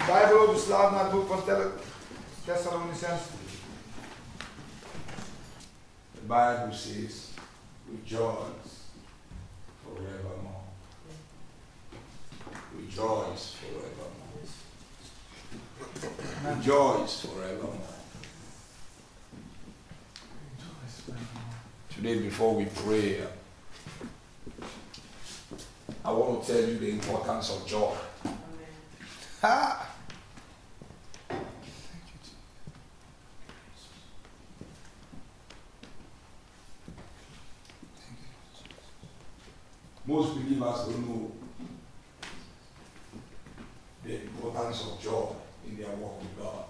Bijbel overslaat naar het boek van Thessalonicenzen. The Bible says, rejoice forevermore. Rejoice forevermore. Rejoice forevermore. Today, before we pray, I want to tell you the importance of joy. Ha! Most believers don't know the importance of joy in their walk with God.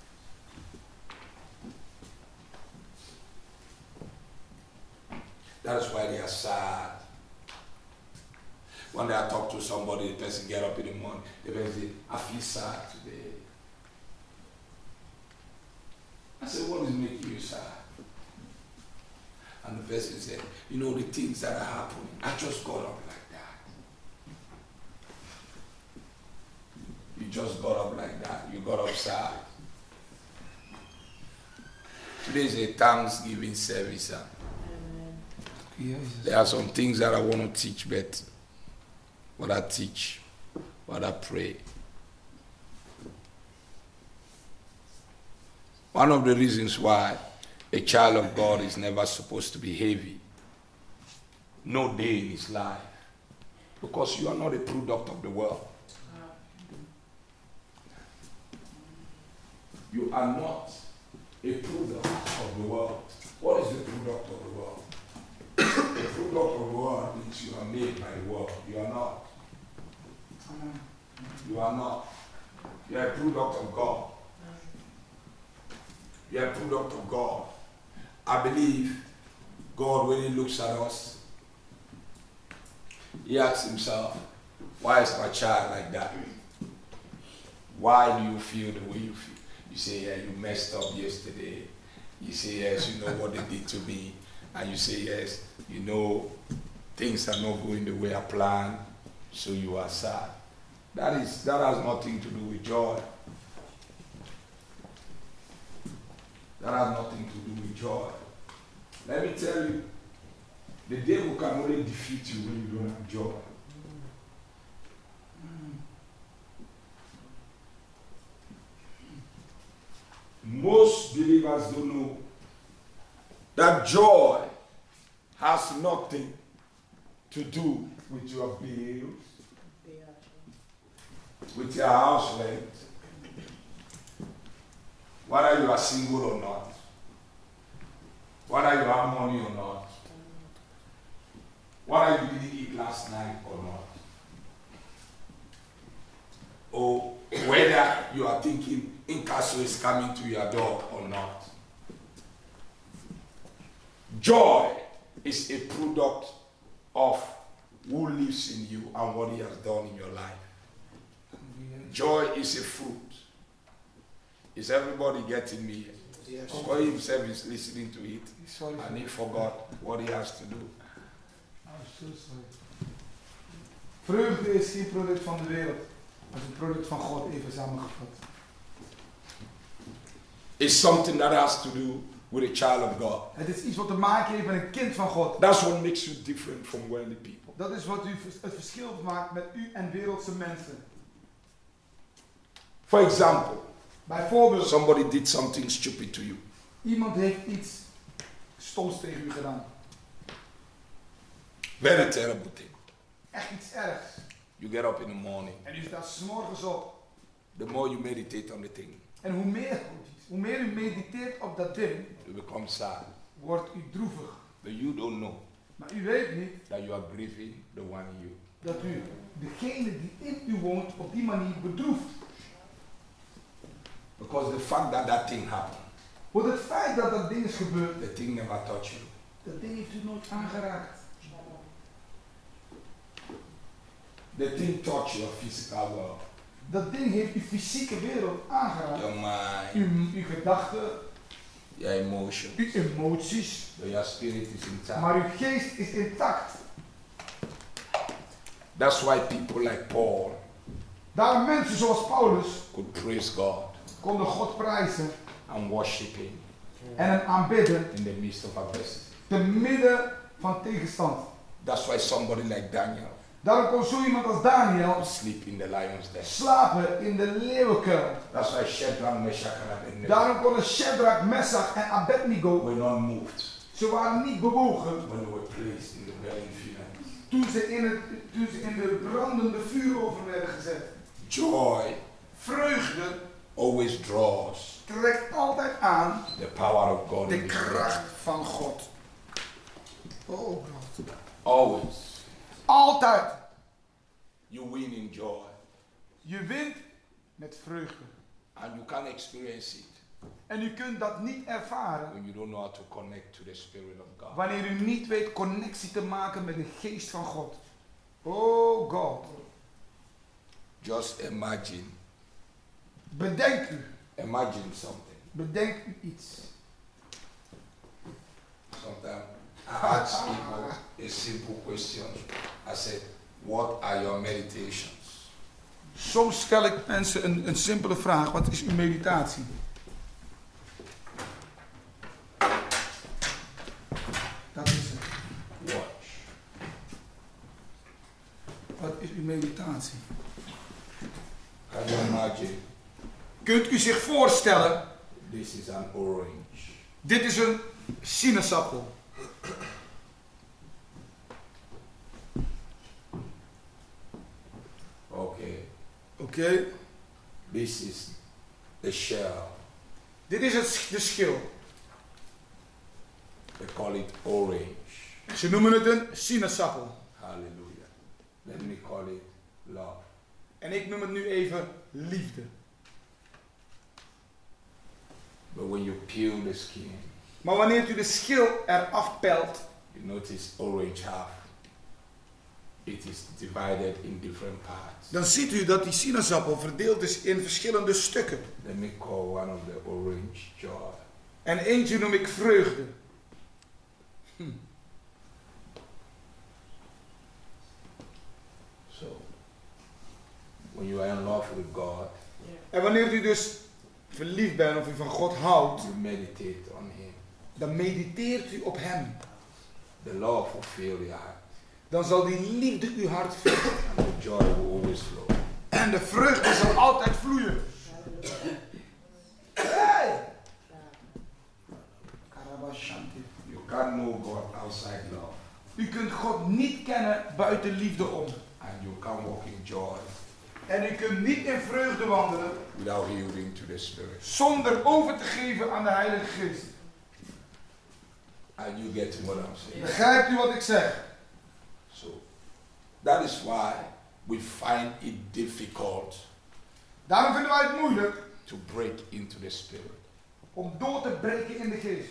That is why they are sad. When I talk to somebody, the person get up in the morning, the person say, I feel sad today. I said, what is making you sad? And the person said, you know, the things that are happening, I just got up like that. You just got up like that. You got up sad. Today is a Thanksgiving service. There are some things that I want to teach, but what I teach, what I pray. One of the reasons why a child of God is never supposed to be heavy, no day in his life, because you are not a product of the world. You are not a product of the world. What is the product of the world? The product of the world means you are made by the world. You are not. You are not. You are a product of God. You are a product of God. I believe God, when He looks at us, He asks Himself, why is my child like that? Why do you feel the way you feel? You say, yeah, you messed up yesterday. You say, yes, you know what they did to me. And you say, yes, you know, things are not going the way I planned, so you are sad. That has nothing to do with joy. That has nothing to do with joy. Let me tell you, the devil can only defeat you when you don't have joy. Most believers don't know that joy has nothing to do with your bills, with your house rent, whether you are single or not, whether you have money or not, whether you didn't eat last night or not, or whether you are thinking incasso is coming to your door or not. Joy is a product of who lives in you and what He has done in your life. Joy is a fruit. Is everybody getting me? Yes. God Himself is listening to it, and He forgot what He has to do. I'm so sorry. Vreugde is geen product van de wereld, maar is een product van God, even samengevat. It's something that has to do with a child of God. Het is iets wat te maken heeft met een kind van God. That's what makes you different from worldly people. Dat is wat u het verschil maakt met u en wereldse mensen. For example, Bijvoorbeeld, somebody did something stupid to you. iemand heeft iets stoms tegen u gedaan. Very terrible thing. Echt iets ergs. You get up in the morning. En u staat 's morgens op. The more you meditate on the thing, En hoe meer u mediteert op dat ding, you become sad. wordt u droevig. But you don't know Maar u weet niet that you are grieving the one in you. dat u degene die in u woont op die manier bedroeft. Because the fact that that thing happened, Want het feit dat dat ding is gebeurd, the thing never touched you. dat ding heeft u nooit aangeraakt. The thing touched your physical world, Dat ding heeft uw fysieke wereld aangeraakt. your mind, Uw gedachten, your emotions, uw emoties, but your spirit is intact. maar uw geest is intact. That's why people like Paul, Daarom mensen zoals Paulus could praise God konden God prijzen and worship Him en hem aanbidden in the midst of adversity. te midden van tegenstand. That's why somebody like Daniel Daarom kon zo iemand als Daniel sleep in the lion's den. slapen in de leeuwenkuil. That's why Shadrach, Meshach and Abednego Daarom konden Shadrach, Meshach en Abednego, were not moved ze waren niet bewogen when they were placed in the burning furnace. toen ze in de brandende vuuroven werden gezet. Joy Vreugde always draws trekt altijd aan the power of God de in this world. kracht van God. Oh God. Always. Altijd. You win in joy Je wint met vreugde. and you can't experience it En u kunt dat niet ervaren when you don't know how to connect to the Spirit of God. wanneer u niet weet connectie te maken met de geest van God. Oh God. Just imagine. Bedenk u. Imagine something. Bedenk u iets. Sometimes I ask people a simple question. I said, what are your meditations? Soms stel ik mensen een simpele vraag. Wat is uw meditatie? Dat is het. Watch. Wat is uw meditatie? Can you imagine? Kunt u zich voorstellen, This is an orange. dit is een sinaasappel. Okay. Oké. This is the shell. Dit is de schil. They call it orange. Ze noemen het een sinaasappel. Hallelujah. Let me call it love. En ik noem het nu even liefde. But when you peel the skin, Maar wanneer u de schil eraf pelt, you notice orange half. It is divided in different parts. dan ziet u dat die sinaasappel verdeeld is in verschillende stukken. Let me call one of the orange joy. En eentje noem ik vreugde. So, when you are in love with God, En wanneer u dus verliefd bent of u van God houdt, you meditate on Him. dan mediteert u op Hem. The love will fill your heart, Dan zal die liefde uw hart vullen. and the joy will always flow. En de vreugde zal altijd vloeien. Hey! Karabashanti. You can't know God outside love, U kunt God niet kennen buiten liefde om. and you can't walk in joy En u kunt niet in vreugde wandelen without yielding to the Spirit. zonder over te geven aan de Heilige Geest. And you get what I'm saying. Begrijpt u wat ik zeg? So, that is why we find it difficult Daarom vinden wij het moeilijk to break into the Spirit. om door te breken in de geest.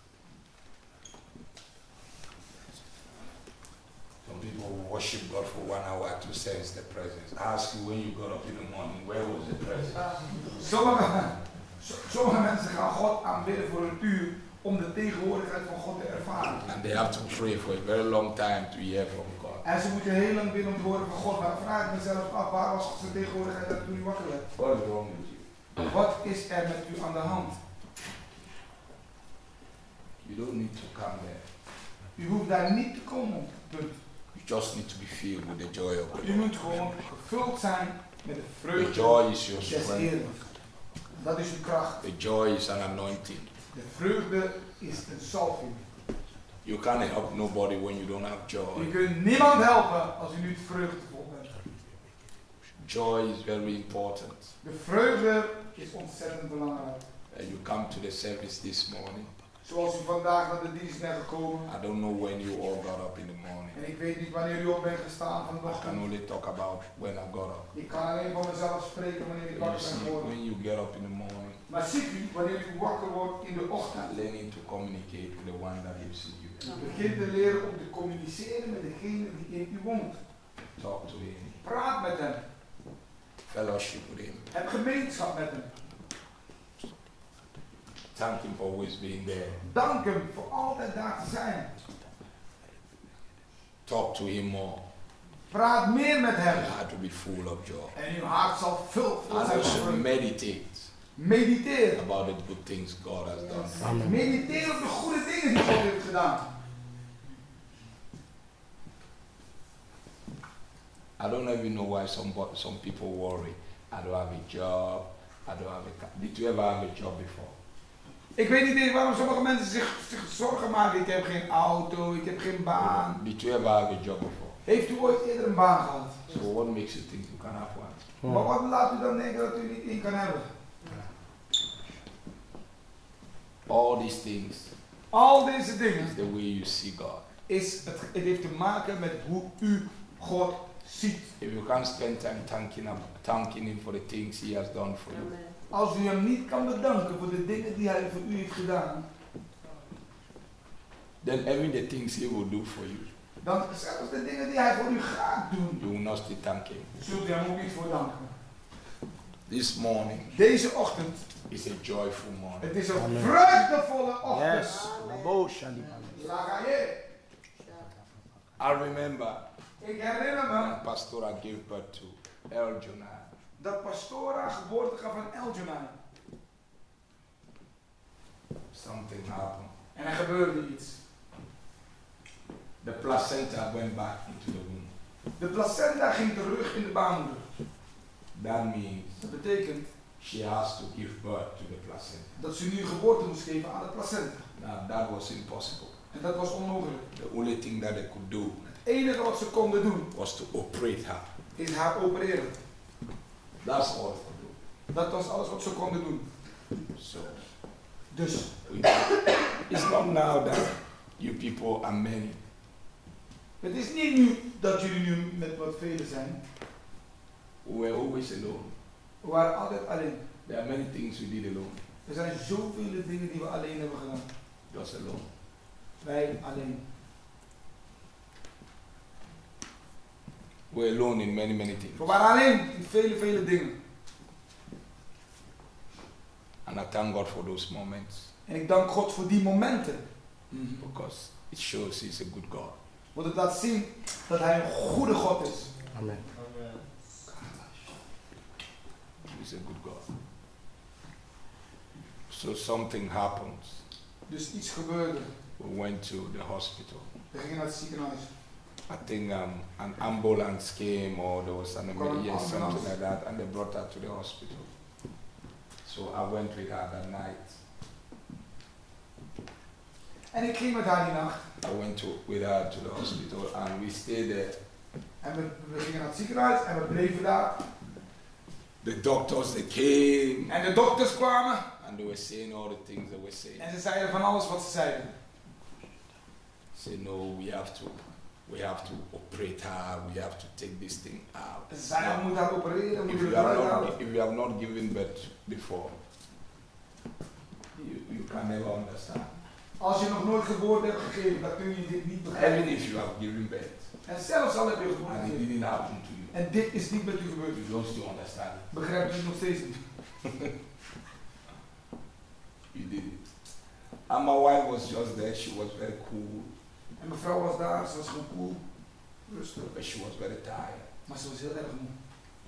Some people worship God for 1 hour to sense the presence. I ask you, when you got up in the morning, where was the presence? Sommige mensen gaan God aanbidden voor een uur om de tegenwoordigheid van God te ervaren. And they have to pray for a very long time to hear from God. En ze moeten heel lang bidden om te horen van God. Maar vraag ik mezelf af, waar was zijn tegenwoordigheid toen u wakker werd? What is wrong with you? Wat is er met u aan de hand? You don't need to come there. U hoeft daar niet te komen. Punt. You just need to be filled with the joy of U God. moet gewoon gevuld zijn met de The vreugde joy is your des strength. Heeren. Dat is uw kracht. The joy is an anointing. De vreugde is een salving. You can't help nobody when you don't have U joy. kunt niemand helpen als u niet vreugdevol bent. Joy is very important. De vreugde is ontzettend belangrijk. You come to the service this morning. Zoals u vandaag naar de dienst bent gekomen. I don't know when you all got up in the morning. En ik weet niet wanneer u op bent gestaan I can vanochtend. only talk about when I got up. Ik kan alleen van mezelf spreken wanneer ik You wakker ben see, geworden. when you get up in the morning, Maar ziet u, wanneer u wakker wordt in de ochtend, learning to communicate with the one that lives in you. u begint te leren om te communiceren met degene die in u woont. Talk to him. Praat met hem. Fellowship with him. Heb gemeenschap met hem. Thank him for always being there. Dank hem voor altijd daar te zijn. Talk to him more. Praat meer met hem. Your heart will be full of joy. En uw hart zal veel And zijn. also meditate Mediteer. about the good things God has done. Amen. Mediteer op de goede dingen die God heeft gedaan. I don't even know why some people worry. I don't have a job. I don't have a car. Did you ever have a job before? Ik weet niet eens waarom sommige mensen zich zorgen maken. Ik heb geen auto, ik heb geen baan. Did you ever have a job before? Heeft u ooit eerder een baan gehad? So what makes you think you can have one? Maar wat laat u dan denken dat u niet in kan hebben? All these things Al deze dingen is the way you see God. het heeft te maken met hoe u God ziet. If you can't spend time thanking Him for the things He has done for you, Als u hem niet kan bedanken voor de dingen die hij voor u heeft gedaan, then even the things He will do for you, dan zelfs de dingen die hij voor u gaat doen, you will not still thank Him. zult u hem ook niet voor danken. This morning Deze ochtend, is a joyful morning. het is een Amen. vreugdevolle ochtend. Yes. Labo Shalibah. Lagaye. I remember Ik herinner me when Pastora gave birth to El Jonah. dat Pastora geboorte gaf aan Eljonai. Something happened. En er gebeurde iets. The placenta went back into the womb. De placenta ging terug in de baarmoeder. That means Dat betekent she has to give birth to the placenta. dat ze nu geboorte moest geven aan de placenta. Now that was impossible. En dat was onmogelijk. The only thing that they could do Het enige wat ze konden doen, was to operate her. is haar opereren. That's all they could do. Dat was alles wat ze konden doen. So Dus, it's not now that you people are many. het is niet nu dat jullie nu met wat velen zijn. We were always alone. We waren altijd alleen. There are many things we did alone. Er zijn zoveel dingen die we alleen hebben gedaan. Just alone. Wij alleen. We're alone in many things. We waren alleen in vele dingen. And I thank God for those moments En ik dank God voor die momenten. because it shows He's a good God. Want het laat zien dat Hij een goede God is. Amen. He's a good God. So something happened. Dus iets gebeurde. We went to the hospital. We gingen naar het ziekenhuis. I think an ambulance came or there was an emergency, something like that, and they brought her to the hospital. So I went with her that night. En ik ging met haar die nacht. I went with her to the hospital and we stayed there. En we gingen naar het ziekenhuis en we bleven daar. The doctors, they came En de dokters kwamen. and they were saying all the things they were saying. En ze zeiden van alles wat ze zeiden. Say no, we have to operate her, we have to take this thing out. Ze zeiden we moeten haar opereren, we If moeten you het have eruit not, halen. if you have not given birth before, you can never understand. Als je nog nooit geboorte hebt gegeven, dan kun je dit niet begrijpen. Even if you have given birth En zelfs al heb je geboorte and it gegeven. didn't happen to you, En dit is niet met u gebeurd. you don't still understand it. Begrijp je het nog steeds niet? You did it. And my wife was just there, she was very cool, En mevrouw was daar, ze was gewoon cool, rustig. but she was very tired. Maar ze was heel erg moe.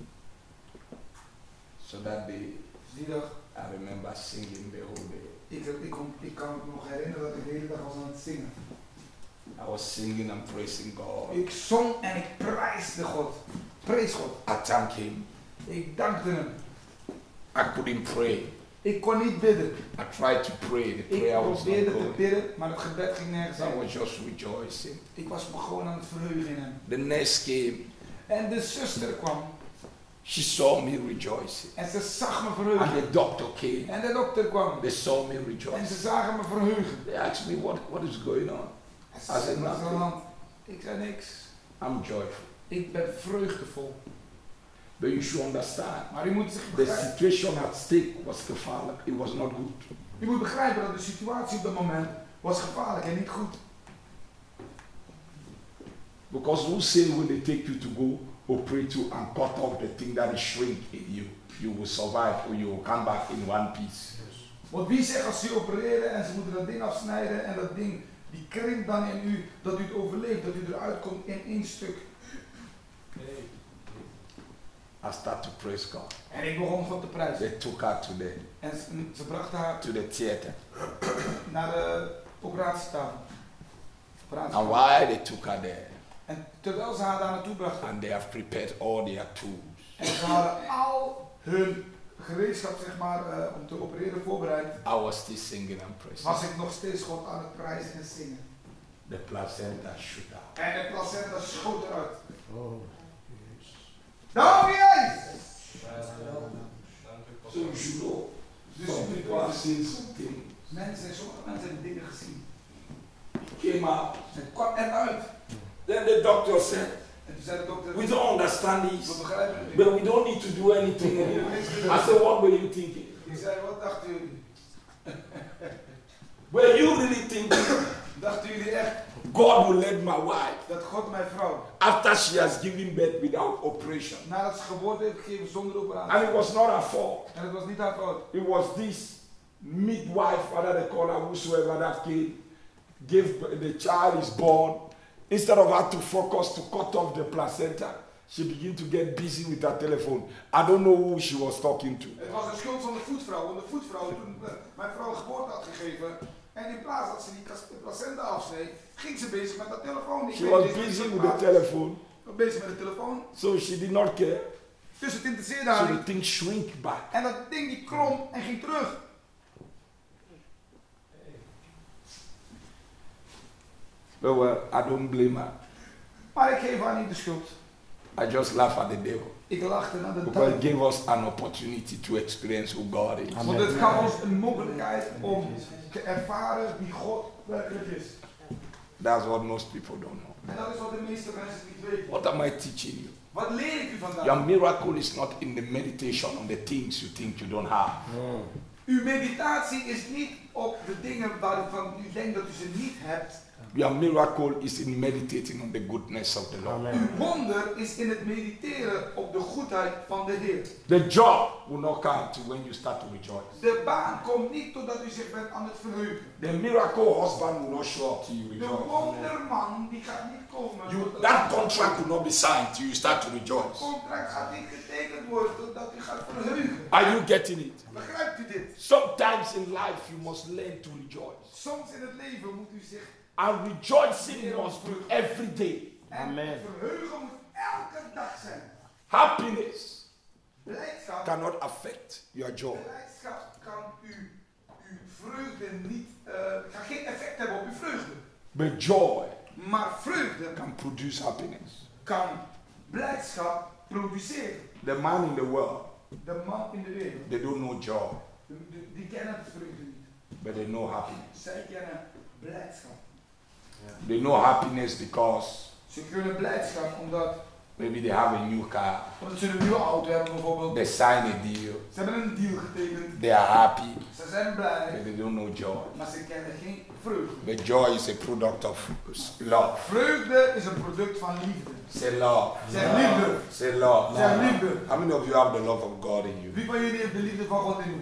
So that day, Dus die dag, I remember singing the whole day. ik kan me nog herinneren dat ik de hele dag was aan het zingen. I was singing and praising God. Ik zong en ik prijsde God. Prees God. I thanked Him. Ik dankte hem. I couldn't pray. Ik kon niet bidden. I tried to pray. The Ik prayer was not probeerde te going. bidden, maar het gebed ging nergens I heen. was just rejoicing. Ik was me gewoon aan het verheugen in hem. The nurse came. En de zuster kwam She saw me rejoicing. en ze zag me And verheugen. the doctor came. En de dokter kwam They saw me en ze rejoicing. zagen me verheugen. They asked me what is going on. En I ze said zeiden, wat is er aan de nothing. hand? Ik zei niks. I'm joyful. Ik ben vreugdevol. But you should understand. Maar u moet zich The begrijpen. situation at stake was gevaarlijk. It was not good. U moet begrijpen dat de situatie op dat moment was gevaarlijk en niet goed. Because who say when they take you to go operate you and cut off the thing that is shrink in you, you will survive or you will come back in one piece. Want wie zegt als ze opereren en ze moeten dat ding afsnijden en dat ding die krimpt dan in u, dat u het overleeft, dat u eruit komt in één stuk. I start to praise God. En ik begon God te prijzen. They took her En ze brachten haar to the theater. naar de operatietafel. And why they took her there? En terwijl ze haar daar naartoe brachten. And they have prepared all their tools. En ze hadden al hun gereedschap, zeg maar, om te opereren voorbereid. I was still singing and praising. Was ik nog steeds God aan het prijzen en zingen. The placenta shoot out. En de placenta schoot eruit. Oh. Dank je Jezus! So you should know. Dus Some people have seen something. sommige mensen hebben dingen gezien. Came out. Het kwam eruit. Then the doctor said, En toen zei de dokter, we don't understand we this, begrijpen het niet. but we don't need to do anything anymore. I said, what were you thinking? Ik zei, wat dachten jullie? Were you really thinking Dachten jullie echt God will let my wife, dat God mijn vrouw, after she has given birth without operation? nadat ze geboorte heeft gegeven zonder And operatie. it was not her fault. En het was niet haar fout. It was this midwife, whether they call her whosoever that came, the child is born. Instead of her to focus to cut off the placenta, she began to get busy with her telephone. I don't know who she was talking to. Het was de schuld van de voetvrouw, want de voetvrouw toen mijn vrouw geboorte had gegeven. En in plaats dat ze die placenta afsneed, ging ze bezig met haar telefoon. She was busy with the telephone, Bezig met de telefoon. so she did not care. Dus het interesseerde So haar the niet. thing shrink back. En dat ding die klom en ging terug. But well, I don't blame her. Maar ik geef haar niet de schuld. I just laugh at the devil. Ik lachte naar de Because it duivel. gave us an opportunity to experience who God is. Want het gaf ons een mogelijkheid om te ervaren wie God werkelijk is. That's what most people don't know. En dat is wat de meeste mensen niet weten. What am I teaching you? Wat leer ik u vandaag? Your miracle is not in the meditation on the things you think you don't have. Uw meditatie is niet op de dingen waarvan u denkt dat u ze niet hebt. Your miracle is in meditating on the goodness of the Lord. Uw wonder is in het mediteren op de goedheid van de Heer. The job will not come to when you start to rejoice. De baan komt niet totdat u zich bent aan het verheugen. The miracle husband will not show up till you De rejoice. wonderman die gaat niet komen. That contract will not be signed till you start to Het rejoice. contract gaat niet getekend worden totdat u gaat verheugen. Are you getting it? Begrijpt u dit? Sometimes in life you must learn to rejoice. Soms in het leven moet u zich And rejoicing must be every day. en Amen. verheugen moet elke dag zijn. Happiness Blijdschap, cannot affect your joy. blijdschap kan uw vreugde niet, kan geen effect hebben op uw vreugde. But joy Maar vreugde can produce happiness. kan blijdschap produceren. The man in the world, De man in de wereld, they don't know joy, die kennen vreugde niet. but they know happiness. Zij kennen blijdschap. They know happiness because Ze kunnen blijdschap omdat maybe they have a new car, ze een nieuwe auto hebben bijvoorbeeld. they sign a deal, Ze hebben een deal getekend. they are happy, Ze zijn blij, but they don't know joy. maar ze kennen geen vreugde. But joy is a product of love. Vreugde is een product van liefde. Say love. Zeg liefde. Say love. Zeg liefde. How many of you have the love of God in you? Wie van jullie heeft de liefde van God in u?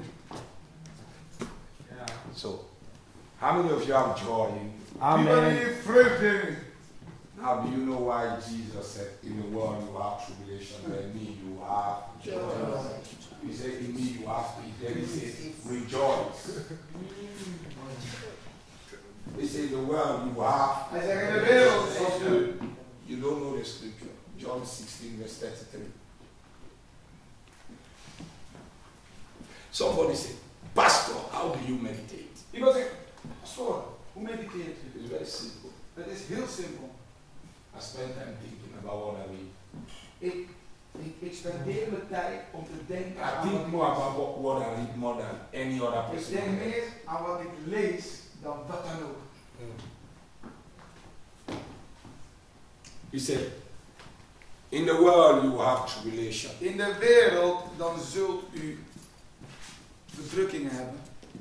So, how many of you have joy in you? Wie van jullie Amen. heeft vreugde in u? Now, do you know why Jesus said, in the world you have tribulation, but in me you have joy? He said, in me you have peace. Then he said, rejoice. He said, in the world you have. Hij zegt in de wereld zoals u. You don't know the scripture. John 16, verse 33. Somebody said, Pastor, how do you meditate? Iemand zegt, pastoor, hoe mediteert u? It's very simple. Het is heel simpel. I spend time thinking about what I read. Ik spendeer mijn tijd om te denken I aan think wat more ik lees. about what I read more than any other Ik person. denk meer aan wat ik lees dan wat dan ook. He said, in the world you have tribulation. In de wereld dan zult u verdrukkingen hebben.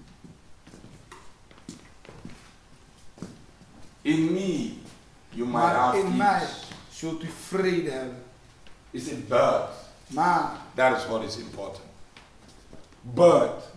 In me you might Maar have in mij peace. zult u vrede hebben. He said, but Maar, that is what is important. But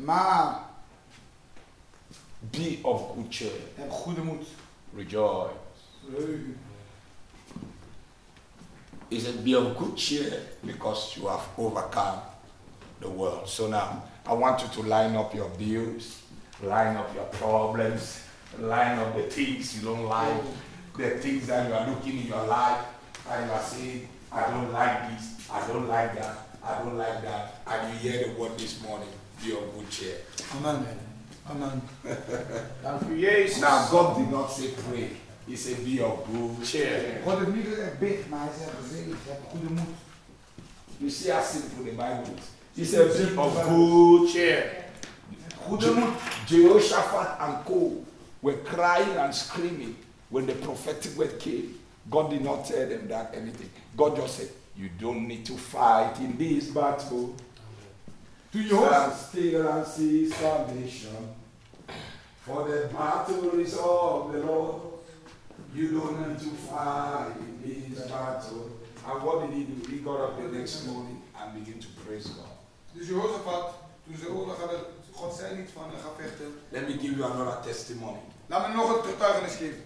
be of good cheer. heb goede moed. Rejoice. Verheugen. He said, be of good cheer because you have overcome the world. So now, I want you to line up your bills, line up your problems, line up the things you don't like, the things that you are looking in your life, and you are saying, I don't like this, I don't like that, I don't like that. And you hear the word this morning, be of good cheer. Amen. Amen. Now, God did not say pray. He said, be of good cheer. God heeft niet gezegd bid, maar hij zegt gezegd, heb goede moed. You see how simple the Bible is. He said, be of good cheer. Goede moed. Jehoshaphat and co were crying and screaming when the prophetic word came. God did not tell them that anything. God just said, you don't need to fight in this battle. Stand still and see salvation. For the battle is of the Lord. You don't need to fight in this battle. And what did he do? He got up the next morning and began to praise God. Dus Jehoshaphat, toen ze oorlog hadden, God zei niet van ga vechten. Let me give you another testimony. Laat me nog een getuigenis geven.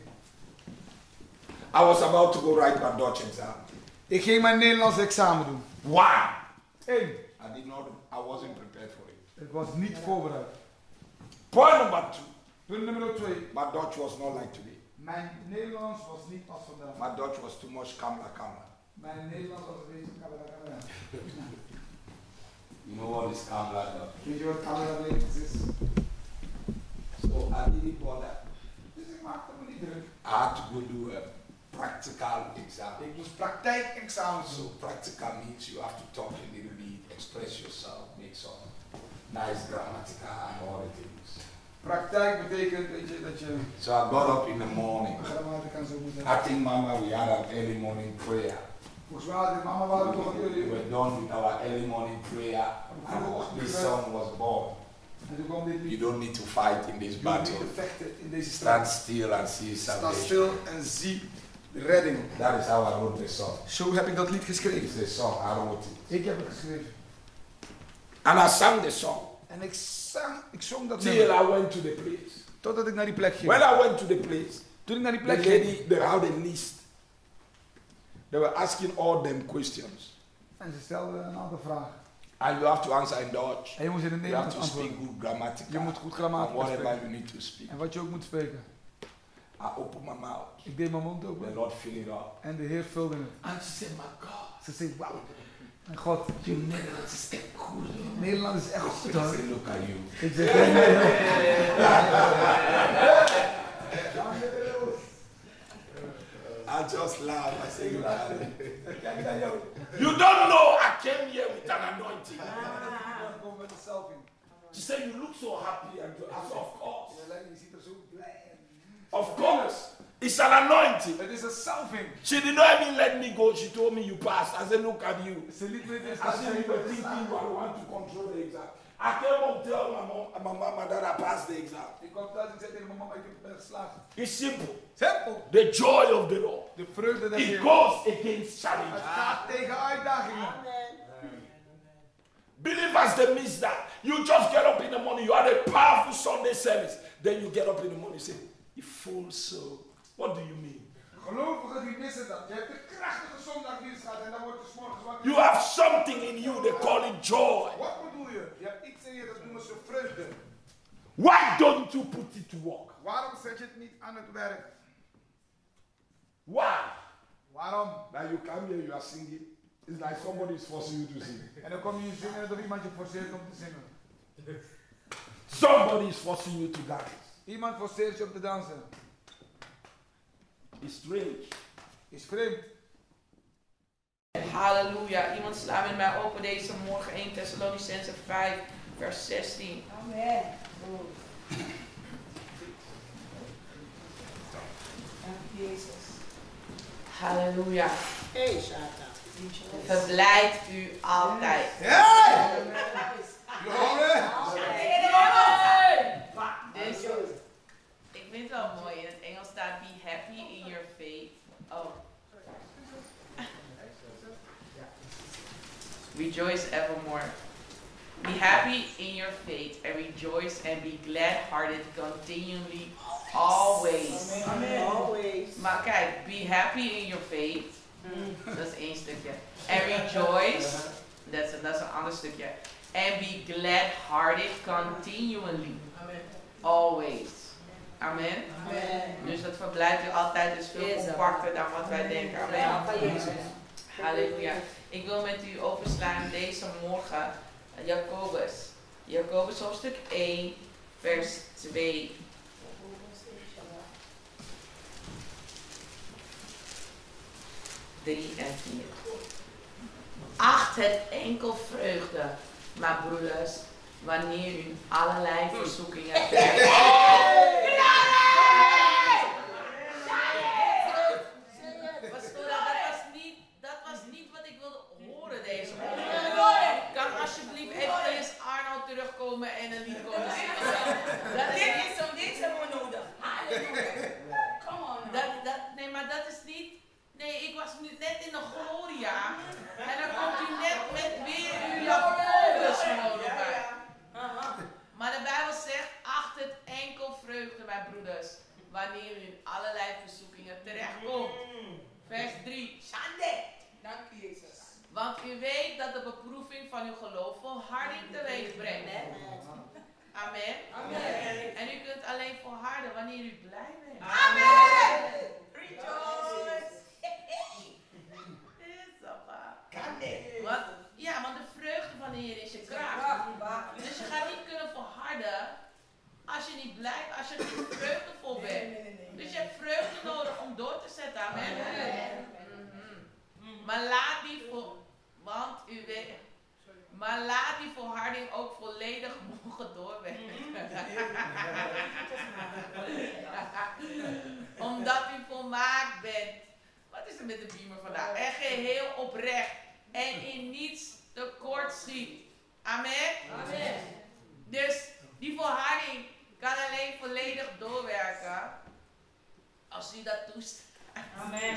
I was about to go write my Dutch exam. Ik ging mijn Nederlands examen doen. Why? 1. I wasn't prepared for it. Ik was niet voorbereid. Point number 2. Punt nummer 2. My Dutch was not like today. Mijn Nederlands was niet als vandaag. My Dutch was too much kamla. Mijn Nederlands was een beetje kamera. You know what is kamla? Weet je wat kamera is? So I didn't bother. Dus ik maakte me niet druk. I had to go do a practical exam. Ik moest praktijkexamen So doen. practical means you have to talk a little bit, express yourself, make some nice grammatical and all the things. Praktijk betekent weet je, dat je So I got up in the morning. grammatica en zo moet I hebben. think Mama, we had an early morning prayer. Volgens mij had mama waren toch een We jullie. were done with our early morning prayer and this son was born. En toen kwam dit You lied. don't need to fight in this Je hoeft niet battle. te vechten in deze Stand strijd. still and see Sta salvation. stil en zie de redding. That is how I wrote the song. Zo heb ik dat lied geschreven. It's a song, I wrote it. Ik heb het geschreven. And I sang the song En ik zong dat till nummer. I went to the place. Totdat ik naar die plek ging. When I went to the place, Toen ik naar die the plek ging. lady, they had a list. They were asking all them questions. En ze stelden een aantal vragen. And you have to answer in Dutch. En je moet in het You have Nederlands to speak antwoorden. good grammatical. Je moet goed And grammatica whatever spreken. you need to speak. En wat je ook moet spreken. I opened my mouth. Ik deed mijn mond The open. Lord filled it up. En de Heer vulde het. And she said, my God, Ze zei, wauw. En God, your Netherlands is echt goed. Nederland is echt goed I hoor. said, look at you. Ik zeg, nee, nee, nee. I just laughed. I said, look at it. You don't know I came here with an anointing. Kom met de selfie. She said, you look so happy. And I said, of course. Je ziet er zo blij uit. Of course. It's an anointing. Het is een salving. She did not even let me go. She told me you passed. I said, look at you. Ze liet me dit I said, you were thinking you want to control the exam. I came home tell my mama that I passed the exam. Ik kwam thuis en zei tegen mijn mama, ik ben geslaagd. It's simple. Simpel. The joy of the Lord. De vreugde des It Heeren. goes against Het challenge. gaat tegen uitdagingen. Believers, they miss that. You just get up in the morning. You had a powerful Sunday service. Then you get up in the morning and say, you fool soul. What do you mean? Gelovigen die missen dat. Je hebt een krachtige zondagdienst gehad en dan wordt het 's morgens wakker. You have something in you. They call it joy. Wat bedoel je? Je hebt iets in je, dat noemen ze vreugde. Why don't you put it to work? Waarom zet je het niet aan het werk? Why? Waarom? Now you come here, you are singing. It's like somebody is forcing you to sing. En dan kom je zingen en dan iemand je forceert om te zingen. Somebody is forcing you to dance. Iemand forceert je om te dansen. It's strange. Is vreemd. Halleluja. Iemand slaat met mij open deze morgen 1 Thessalonicenzen 5 vers 16. Amen. Dank je, Jezus. Halleluja. Hey, Satan. Verblijd u altijd. Hey! Glory! Dus ik vind het wel mooi. In het Engels staat be happy in your faith. Oh. Rejoice evermore. Be happy in your faith and rejoice and be glad-hearted continually, always. Amen. Always. Maar kijk, be happy in your faith. Dat is één stukje. And rejoice, dat is een ander stukje. And be glad-hearted continually. Always. Amen. Dus dat verblijft u altijd is veel compacter dan wat wij denken. Amen. Halleluja. Ik wil met u openslaan deze morgen Jacobus. Jacobus hoofdstuk 1, vers 2. Drie en 4. Acht het enkel vreugde, mijn broeders, wanneer u allerlei verzoekingen krijgt. Dat was niet wat ik wilde horen deze morgen. Kan alsjeblieft even eens Arno terugkomen en een lied komen zingen? Dit hebben we nodig. Nee, maar dat is niet. Nee, ik was nu net in de Gloria. En dan komt u net met weer uw Jacobus gewoon erbij. Maar de Bijbel zegt, acht het enkel vreugde, mijn broeders, wanneer u in allerlei verzoekingen terechtkomt. Vers 3. Shande. Dank u, Jezus. Want u weet dat de beproeving van uw geloof volharding teweeg brengt. Amen. Amen. En u kunt alleen volharden wanneer u blij bent. Amen. Rejoice. Want de vreugde van de Heer is je kracht. Dus je gaat niet kunnen volharden als je niet blij, als je niet vreugdevol bent. Dus je hebt vreugde nodig om door te zetten. Amen. Maar laat die volharding ook volledig mogen doorwerken. Omdat u volmaakt bent. Wat is er met de beamer vandaag? En geheel oprecht. En in niets tekort schiet. Amen? Amen. Dus die volharding kan alleen volledig doorwerken. Als u dat toestaat. Amen.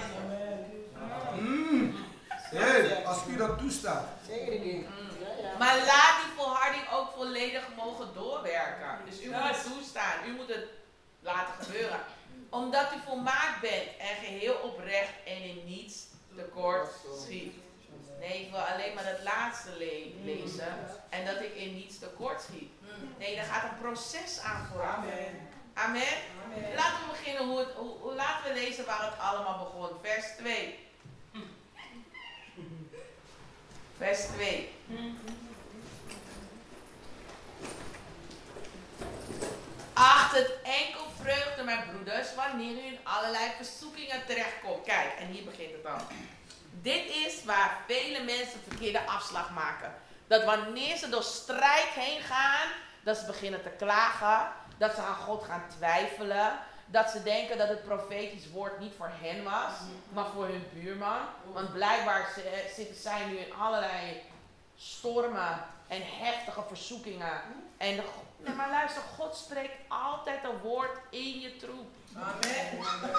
Als u dat toestaat. Maar laat die volharding ook volledig mogen doorwerken. Dus u moet het toestaan. U moet het laten gebeuren. Omdat u volmaakt bent en geheel oprecht en in niets tekort schiet. Nee, ik wil alleen maar dat laatste lezen. En dat ik in niets tekort schiet. Nee, daar gaat een proces aan vooraf. Amen. Amen. Laten we beginnen laten we lezen waar het allemaal begon. Vers 2. Vers 2. Acht het enkel vreugde, mijn broeders, wanneer u in allerlei verzoekingen terechtkomt. Kijk, en hier begint het dan. Dit is waar vele mensen verkeerde afslag maken. Dat wanneer ze door strijd heen gaan, dat ze beginnen te klagen, dat ze aan God gaan twijfelen, dat ze denken dat het profetisch woord niet voor hen was, maar voor hun buurman. Want blijkbaar zitten zij nu in allerlei stormen en heftige verzoekingen. En maar luister, God spreekt altijd een woord in je troep. Amen.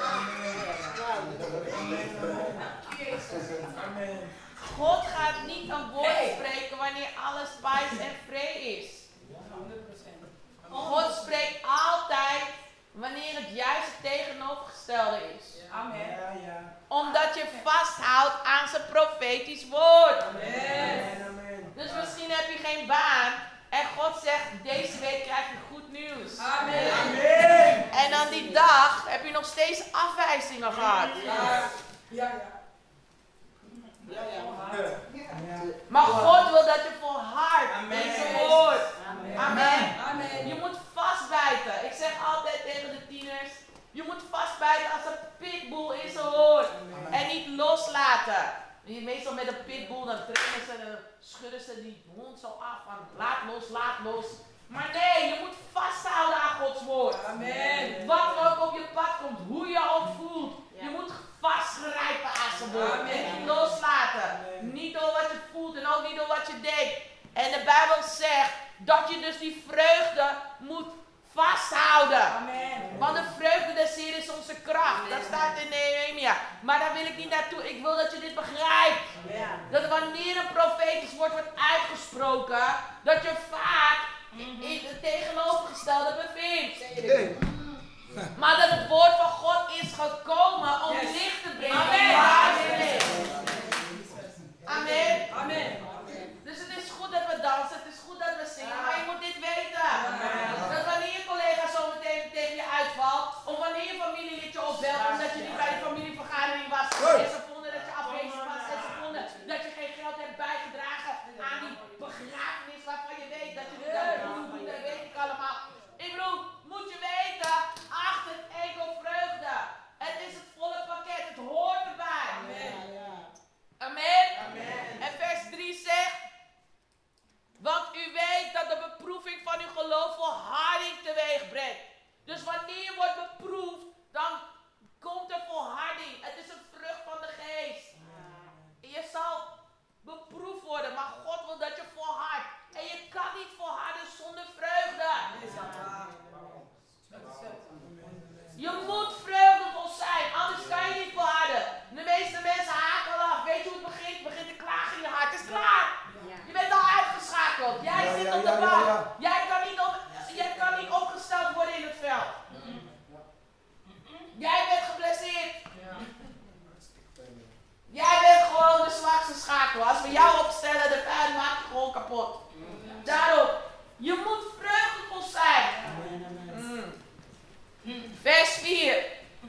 Amen. God gaat niet een woord spreken wanneer alles pais en vree is. 100%. God spreekt altijd wanneer het juist het tegenovergestelde is. Amen. Omdat je vasthoudt aan zijn profetisch woord. Amen. Dus misschien heb je geen baan. En God zegt, deze week krijg je goed nieuws. Amen. Amen. En dan die dag heb je nog steeds afwijzingen gehad. Ja. Maar God wil dat je volhardt met zijn woord. Amen. Amen. Je moet vastbijten. Ik zeg altijd tegen de tieners, je moet vastbijten als een pitbull in zijn woord. En niet loslaten. Meestal met een pitbull, dan trainen ze en dan schudden ze die hond zo af van laat los. Maar nee, je moet vasthouden aan Gods woord. Amen. Wat er ook op je pad komt, hoe je ook voelt. Je moet vastgrijpen aan zijn woord. Amen. En niet loslaten. Amen. Niet door wat je voelt en ook niet door wat je denkt. En de Bijbel zegt dat je dus die vreugde moet vasthouden. Amen. Want de vreugde des Heeren is onze kracht. Amen. Dat staat in Nehemia. Maar daar wil ik niet naartoe. Ik wil dat je dit begrijpt. Amen. Dat wanneer een profetisch woord wordt uitgesproken, dat je vaak in het tegenovergestelde bevindt. Maar dat het woord van God is gekomen om licht te brengen. Amen. Jij kan niet opgesteld worden in het veld. Jij bent geblesseerd. Jij bent gewoon de zwakste schakel. Als we jou opstellen, de vijand maakt je gewoon kapot. Daarom, je moet vreugdevol zijn. Vers 4.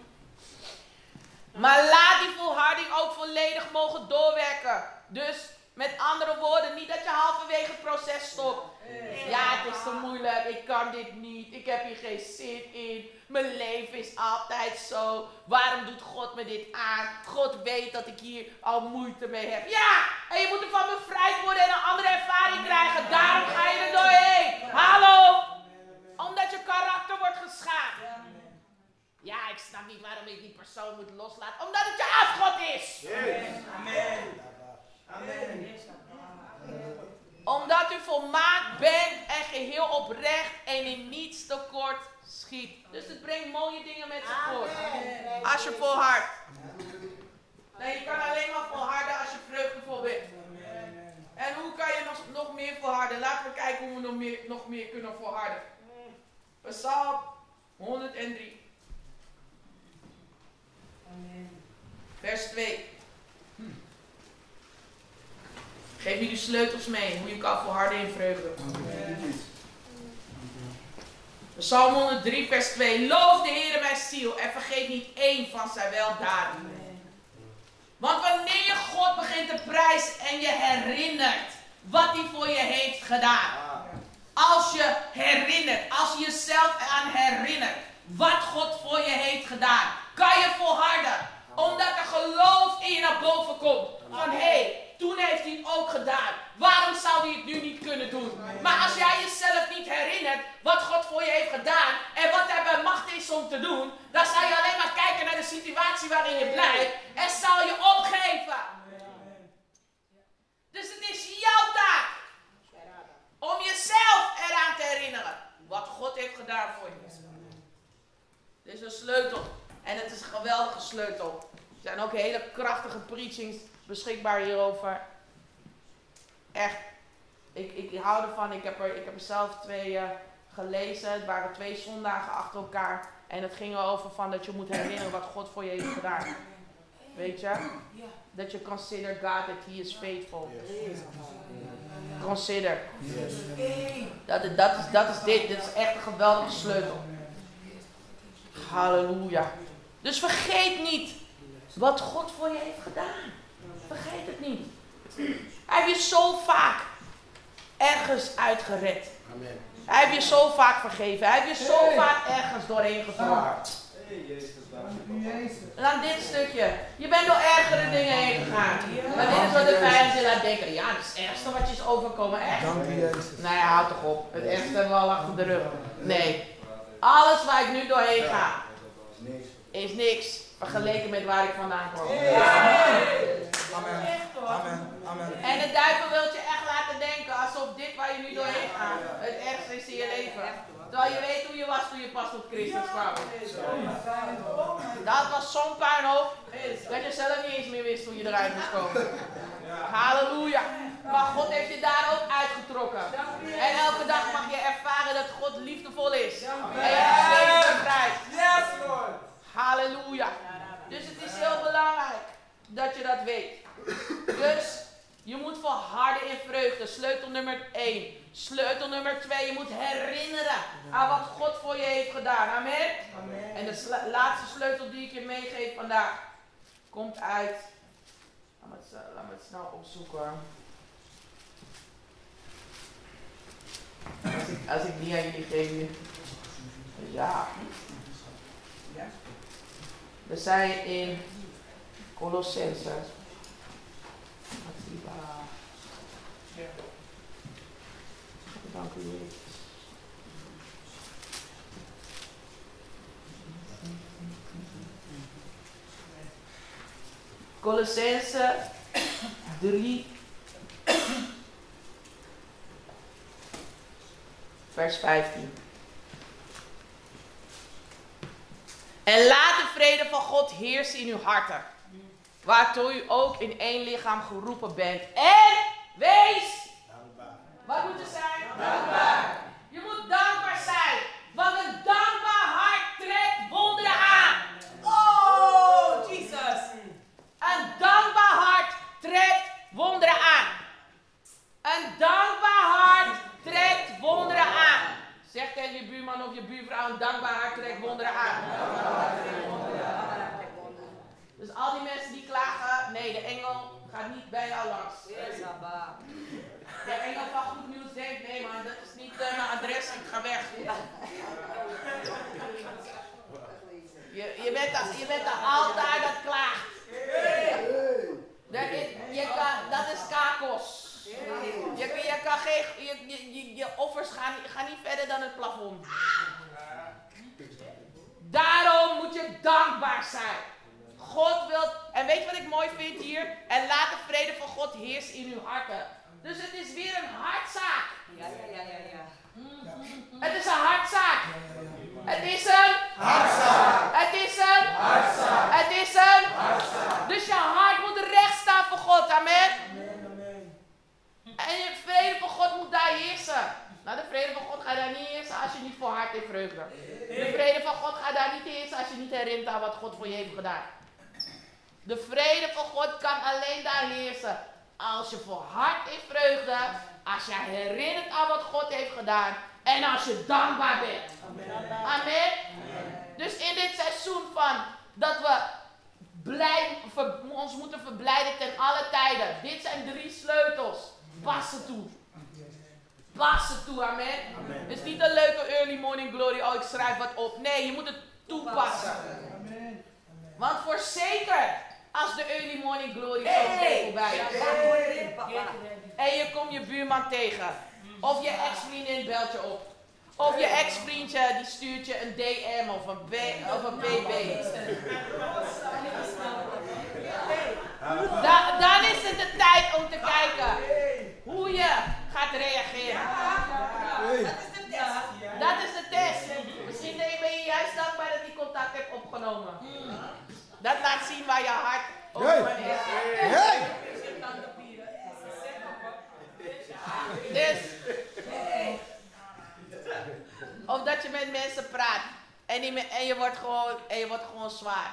Maar laat die volharding ook volledig mogen doorwerken. Dus met andere woorden, niet dat je halverwege het proces stopt. Ja, het is te moeilijk, ik kan dit niet, ik heb hier geen zin in. Mijn leven is altijd zo. Waarom doet God me dit aan? God weet dat ik hier al moeite mee heb. Ja, en je moet ervan bevrijd worden en een andere ervaring krijgen. Daarom ga je er doorheen. Hallo? Omdat je karakter wordt geschaad. Ja, ik snap niet waarom ik die persoon moet loslaten. Omdat het je afgod is. Amen. Amen. Omdat u volmaakt bent en geheel oprecht en in niets tekort schiet. Dus het brengt mooie dingen met zich voort. Als je volhardt. Nee, je kan alleen maar volharden als je vreugdevol bent. En hoe kan je nog meer volharden? Laten we kijken hoe we nog meer kunnen volharden. Psalm 103. Vers 2. Geef jullie sleutels mee, hoe je kan volharden in vreugde. Psalm 103 vers 2. Loof de Heer mijn ziel en vergeet niet één van zijn weldaden. Want wanneer je God begint te prijzen en je herinnert wat hij voor je heeft gedaan. Als je herinnert, als je jezelf eraan herinnert wat God voor je heeft gedaan, kan je volharden. Omdat er geloof in je naar boven komt. Van hé, toen heeft hij het ook gedaan. Waarom zou hij het nu niet kunnen doen? Maar als jij jezelf niet herinnert wat God voor je heeft gedaan en wat hij bij macht is om te doen, dan zal je alleen maar kijken naar de situatie waarin je blijft en zal je opgeven. Dus het is jouw taak om jezelf eraan te herinneren wat God heeft gedaan voor je. Dit is een sleutel en het is een geweldige sleutel. Er zijn ook hele krachtige preachings beschikbaar hierover. Echt. Ik hou ervan. Ik heb er zelf 2 gelezen. Het waren 2 zondagen achter elkaar. En het ging erover van dat je moet herinneren wat God voor je heeft gedaan. Weet je? Dat je consider God that he is faithful. Consider. Dat is dit. Dit is echt een geweldige sleutel. Halleluja. Dus vergeet niet wat God voor je heeft gedaan. Vergeet het niet. Hij heeft je zo vaak ergens uitgered. Amen. Hij heeft je zo vaak vergeven. Hij heeft je zo vaak ergens doorheen gebracht. En dan dit stukje. Je bent door ergere dingen heen gegaan. Maar dit is wat de vijand je laat denken. Ja, dat is het ergste wat je is overkomen. Echt? Nou ja, houd toch op. Het ergste hebben we al achter de rug. Nee. Alles waar ik nu doorheen ga, is niks vergeleken met waar ik vandaan kom. Amen. Amen. Amen. En de duivel wil je echt laten denken alsof dit waar je nu doorheen gaat het ergste is in je leven. Terwijl je weet hoe je was toen je pas tot Christus kwam. Dat was zo'n puinhoop dat je zelf niet eens meer wist hoe je eruit moest komen. Halleluja. Maar God heeft je daar ook uitgetrokken. En elke dag mag je ervaren dat God liefdevol is. En je hebt steeds bevrijd. Halleluja. Dus het is heel belangrijk dat je dat weet. Dus je moet volharden in vreugde. Sleutel nummer 1. Sleutel nummer 2. Je moet herinneren aan wat God voor je heeft gedaan. Amen. Amen. En de laatste sleutel die ik je meegeef vandaag komt uit. Laat me het snel opzoeken. Als ik die aan jullie geef. Ja. We zijn in Colossense. Dank u, Jezus. Colossense 3, vers 15. En laat de vrede van God heersen in uw harten, waartoe u ook in één lichaam geroepen bent. En wees, wat moet er zijn? Dankbaar. buurvrouw een dankbaar hart trekt wonderen aan. Dus al die mensen die klagen, nee, de engel gaat niet bij jou langs. De engel van goed nieuws denkt, nee man, dat is niet mijn adres, ik ga weg. Je bent de altaar dat klaagt. Dat is kakos. Je offers gaan niet verder dan het plafond. Daarom moet je dankbaar zijn. God wil, en weet je wat ik mooi vind hier? En laat de vrede van God heersen in uw harten. Dus het is weer een hartzaak. Ja. Het is een hartzaak. Het is een hartzaak. Het is een hartzaak. Het is een hartzaak. Dus je hart moet recht staan voor God. Amen. En je vrede van God moet daar heersen. Nou, de vrede van God gaat daar niet heersen als je niet voor hart in vreugde. De vrede van God gaat daar niet heersen als je niet herinnert aan wat God voor je heeft gedaan. De vrede van God kan alleen daar heersen als je voor hart in vreugde, als je herinnert aan wat God heeft gedaan en als je dankbaar bent. Amen. Dus in dit seizoen van dat we ons moeten verblijden ten alle tijden. Dit zijn 3 sleutels. Pas ze toe. Pas ze toe, amen. Het is niet een leuke early morning glory, oh ik schrijf wat op. Nee, je moet het toepassen. Want voorzeker, als de early morning glory zo voorbij is. En je komt je buurman tegen. Of je ex-vriendin belt je op. Of je ex-vriendje die stuurt je een DM of een BB. Dan is het de tijd om te kijken hoe je gaat reageren. Dat is de test. Misschien ben je juist dankbaar dat die contact hebt opgenomen. Dat laat zien waar je hart open is. Dus, of dat je met mensen praat en je wordt gewoon zwaar.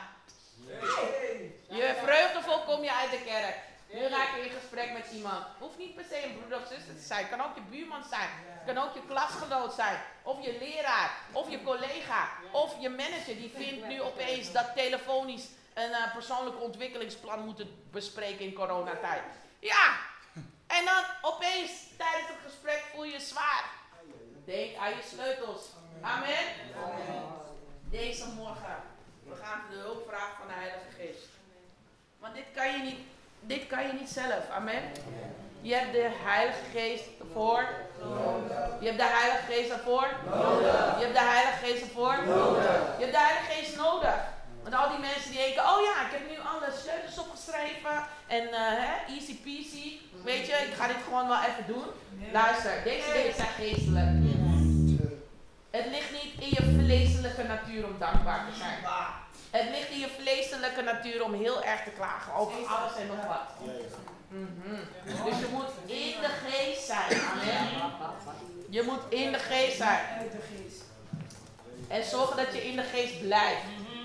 Je vreugdevol kom je uit de kerk. Nu raak je in gesprek met iemand. Hoeft niet per se een broeder of zuster te zijn. Het kan ook je buurman zijn. Het kan ook je klasgenoot zijn. Of je leraar. Of je collega. Of je manager. Die vindt nu opeens dat telefonisch een persoonlijk ontwikkelingsplan moeten bespreken in coronatijd. Ja. En dan opeens tijdens het gesprek voel je je zwaar. Denk aan je sleutels. Amen. Deze morgen. We gaan de hulp vragen van de Heilige Geest. Want dit kan je niet zelf. Amen. Je hebt de Heilige Geest ervoor. Je hebt de Heilige Geest ervoor. Je hebt de Heilige Geest ervoor. Je hebt de Heilige Geest nodig. Want al die mensen die denken, oh ja, ik heb nu alle sleutels opgeschreven. En easy peasy. Weet je, ik ga dit gewoon wel even doen. Luister, deze dingen zijn geestelijk. Het ligt niet in je vleeselijke natuur om dankbaar te zijn. Het ligt in je vleeselijke natuur om heel erg te klagen over alles en nog wat. Dus je moet in de geest zijn. Amen. Je moet in de geest zijn. En zorgen dat je in de geest blijft.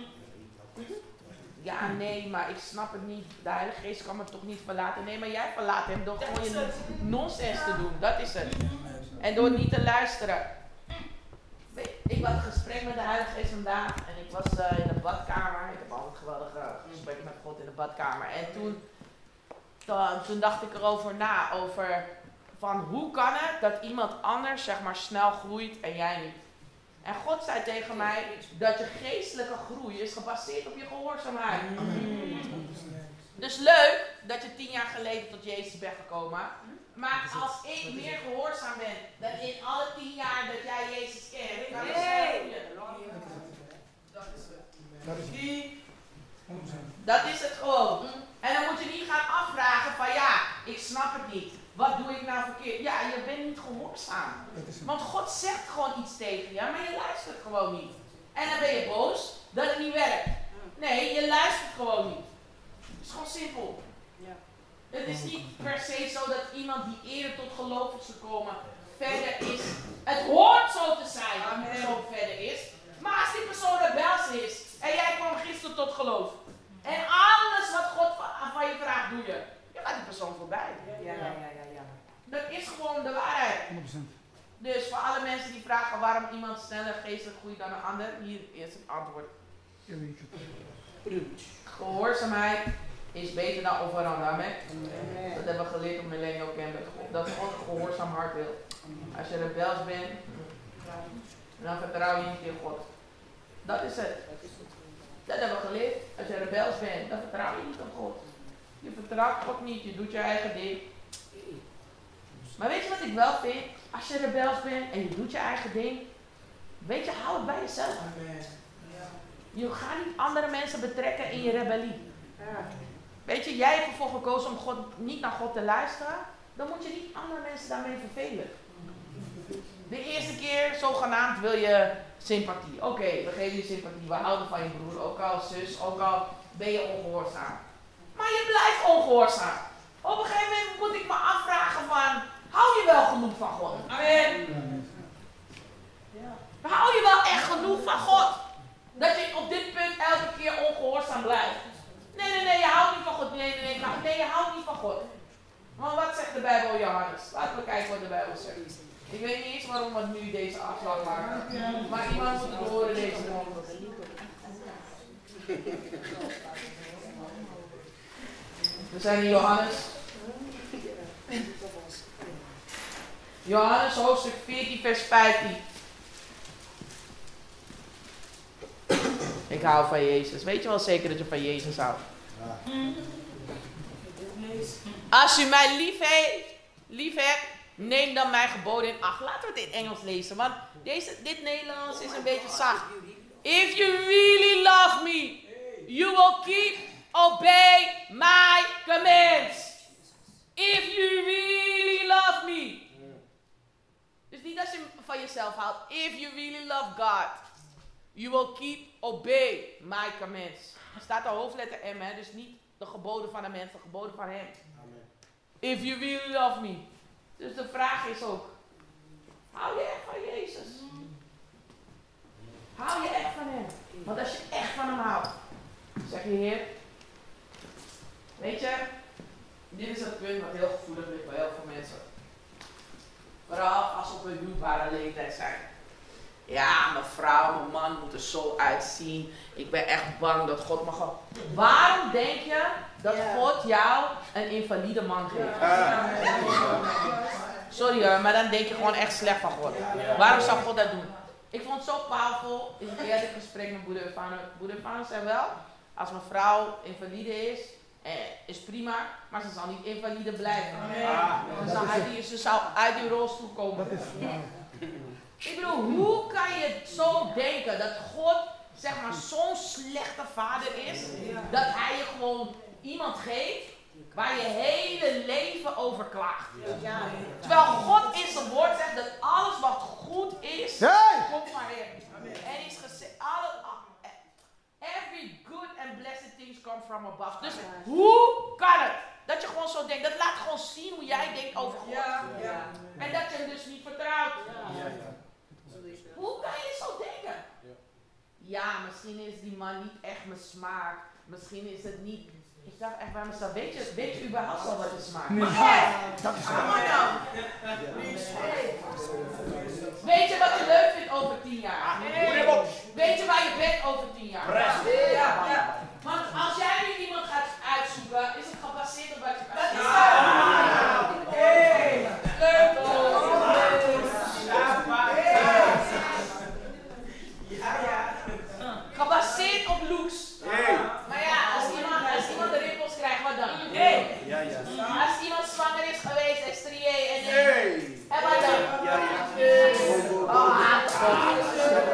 Ja, nee, maar ik snap het niet. De Heilige Geest kan me toch niet verlaten. Nee, maar jij verlaat hem door gewoon je nonsens te doen. Dat is het. En door niet te luisteren. Ik had een gesprek met de Heilige Geest vandaag. En ik was in de badkamer. Ik heb altijd geweldige gesprekken met God in de badkamer. En toen dacht ik erover na. Over van hoe kan het dat iemand anders zeg maar snel groeit en jij niet. En God zei tegen mij dat je geestelijke groei is gebaseerd op je gehoorzaamheid. Dus leuk dat je 10 jaar geleden tot Jezus bent gekomen. Maar als ik meer gehoorzaam ben dan in alle 10 jaar dat jij Jezus kent, dan is het Dat is het gewoon. En dan moet je niet gaan afvragen van ja, ik snap het niet. Wat doe ik nou verkeerd? Ja, je bent niet gehoorzaam. Want God zegt gewoon iets tegen je, maar je luistert gewoon niet. En dan ben je boos dat het niet werkt. Nee, je luistert gewoon niet. Het is gewoon simpel. Het is niet per se zo dat iemand die eerder tot geloof is gekomen verder is. Het hoort zo te zijn dat die persoon verder is. Maar als die persoon rebels is en jij kwam gisteren tot geloof. En alles wat God van je vraagt doe je. Je gaat die persoon voorbij. Ja. Dat is gewoon de waarheid. Dus voor alle mensen die vragen waarom iemand sneller geestelijk groeit dan een ander, hier is het antwoord. Gehoorzaamheid is beter dan offerande. Amen. Dat hebben we geleerd op Millennial Camp. Dat God een gehoorzaam hart wil. Als je rebels bent, dan vertrouw je niet in God. Dat is het. Dat hebben we geleerd. Als je rebels bent, dan vertrouw je niet op God. Je vertrouwt God niet, je doet je eigen ding. Maar weet je wat ik wel vind? Als je rebels bent en je doet je eigen ding, weet je, hou het bij jezelf. Je gaat niet andere mensen betrekken in je rebellie. Weet je, jij hebt ervoor gekozen om niet naar God te luisteren, dan moet je niet andere mensen daarmee vervelen. De eerste keer, zogenaamd, wil je sympathie. Oké, we geven je sympathie, we houden van je broer, ook al zus, ook al ben je ongehoorzaam. Maar je blijft ongehoorzaam. Op een gegeven moment moet ik me afvragen van, hou je wel genoeg van God? Amen. Hou je wel echt genoeg van God? Dat je op dit punt elke keer ongehoorzaam blijft. Nee, je houdt niet van God. Nee, je houdt niet van God. Maar wat zegt de Bijbel, Johannes? Laten we kijken wat de Bijbel zegt. Ik weet niet eens waarom we nu deze afslag maken. Maar iemand moet het horen deze morgen. We zijn in Johannes. Johannes hoofdstuk 14 vers 15. Ik hou van Jezus. Weet je wel zeker dat je van Jezus houdt? Als u mij lief hebt, neem dan mijn geboden in acht. Laten we het in Engels lezen, want dit Nederlands is een beetje zacht. If you really love me, you will obey my commands. If you really love me. Dus niet als je van jezelf houdt. If you really love God, you will obey my commands. Er staat de hoofdletter M, hè? Dus niet de geboden van de mens, de geboden van hem. Amen. If you really love me. Dus de vraag is ook, hou je echt van Jezus? Hou je echt van hem? Want als je echt van hem houdt, zeg je Heer, weet je, dit is het punt wat heel gevoelig ligt bij heel veel mensen. Vooral als ze op een huwbare leeftijd zijn. Ja, mijn vrouw, mijn man moet er zo uitzien. Ik ben echt bang dat God me gewoon... Waarom denk je dat God jou een invalide man geeft? Sorry hoor, maar dan denk je gewoon echt slecht van God. Waarom zou God dat doen? Ik vond het zo powerful in een eerlijk gesprek met Boeder Ervaren. Boeder Ervaren zei wel, als mijn vrouw invalide is prima, maar ze zal niet invalide blijven. Ze zou uit die rolstoel komen. Ik bedoel, hoe kan je zo denken dat God, zeg maar, zo'n slechte vader is, dat hij je gewoon iemand geeft waar je hele leven over klaagt. Terwijl God in zijn woord zegt dat alles wat goed is, komt van hem. En is gezegd, every good and blessed things come from above. Dus hoe kan het dat je gewoon zo denkt? Dat laat gewoon zien hoe jij denkt over God. En dat je hem dus niet vertrouwt. Hoe kan je zo denken? Ja, misschien is die man niet echt mijn smaak. Misschien is het niet... Ik dacht echt bij mezelf, weet je überhaupt wel wat je smaakt? Nee. Dat is nou. Weet je wat je leuk vindt over 10 jaar? Weet je waar je bent over 10 jaar? Want als jij nu iemand gaat uitzoeken, is het gebaseerd op wat je kan zien. Gebaseerd op looks. Maar ja, als iemand de rimpels krijgt, wat dan? Als iemand zwanger is geweest, en strié en wat dan?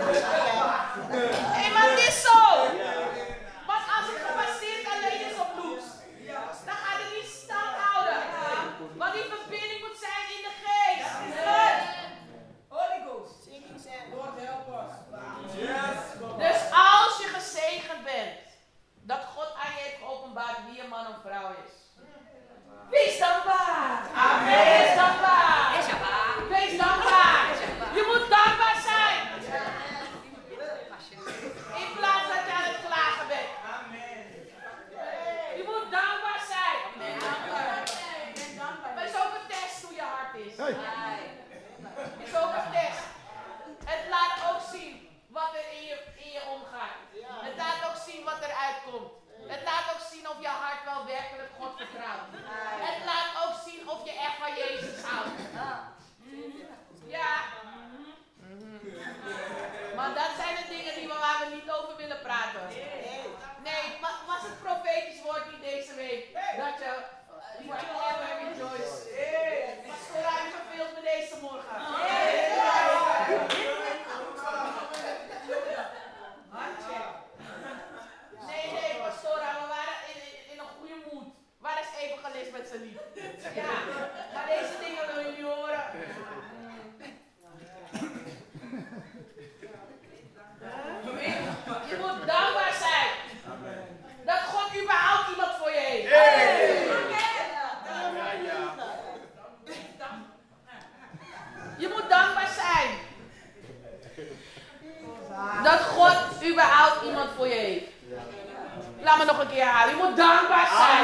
Laat me nog een keer halen. Je moet dankbaar zijn.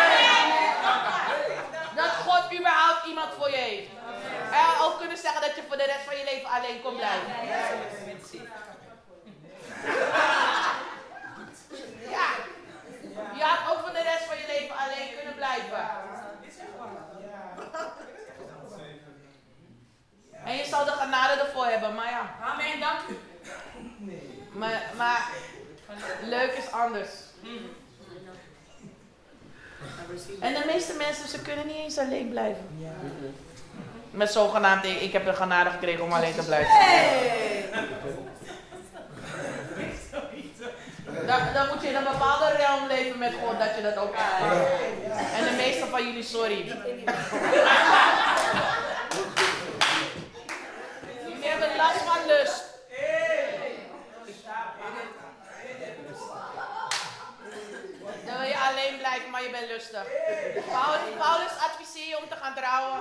Dat God überhaupt iemand voor je heeft. En ook kunnen zeggen dat je voor de rest van je leven alleen kon blijven. Ja. Je had ook voor de rest van je leven alleen kunnen blijven. En je zal de genade ervoor hebben, maar ja. Amen, dank u. Maar leuk is anders. En de meeste mensen, ze kunnen niet eens alleen blijven. Met zogenaamd, ik heb de genade gekregen om alleen te blijven. Dan moet je in een bepaalde realm leven met God, dat je dat ook kan. En de meeste van jullie, sorry. Jullie hebben last van lust. Dan wil je alleen blijven, maar je bent lustig. Paulus adviseert je om te gaan trouwen.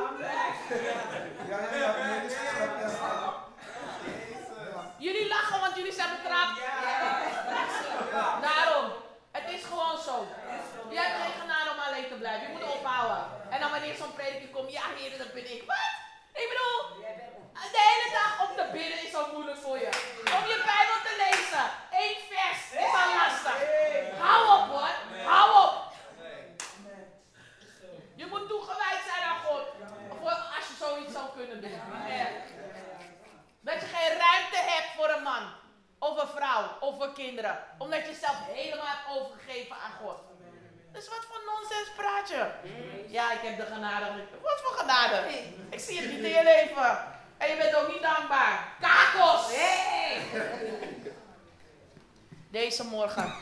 Jullie lachen, want jullie zijn betrapt. Daarom. Het is gewoon zo. Je hebt geen genade om alleen te blijven. Je moet ophouden. En dan wanneer zo'n prediker komt, ja heer, dat ben ik. Wat? Ik bedoel, de hele dag om te bidden is al moeilijk voor je. Om je Bijbel te lezen. 1 vers is al lastig. Hou op hoor. Hou op. Je moet toegewijd zijn aan God. Als je zoiets zou kunnen doen. Dat je geen ruimte hebt voor een man. Of een vrouw. Of voor kinderen. Omdat je zelf helemaal hebt overgegeven aan God. Dus wat voor nonsens praat je? Ja, ik heb de genade. Wat voor genade? Ik zie het niet in je leven. En je bent ook niet dankbaar. Kakels! Hey! Deze morgen.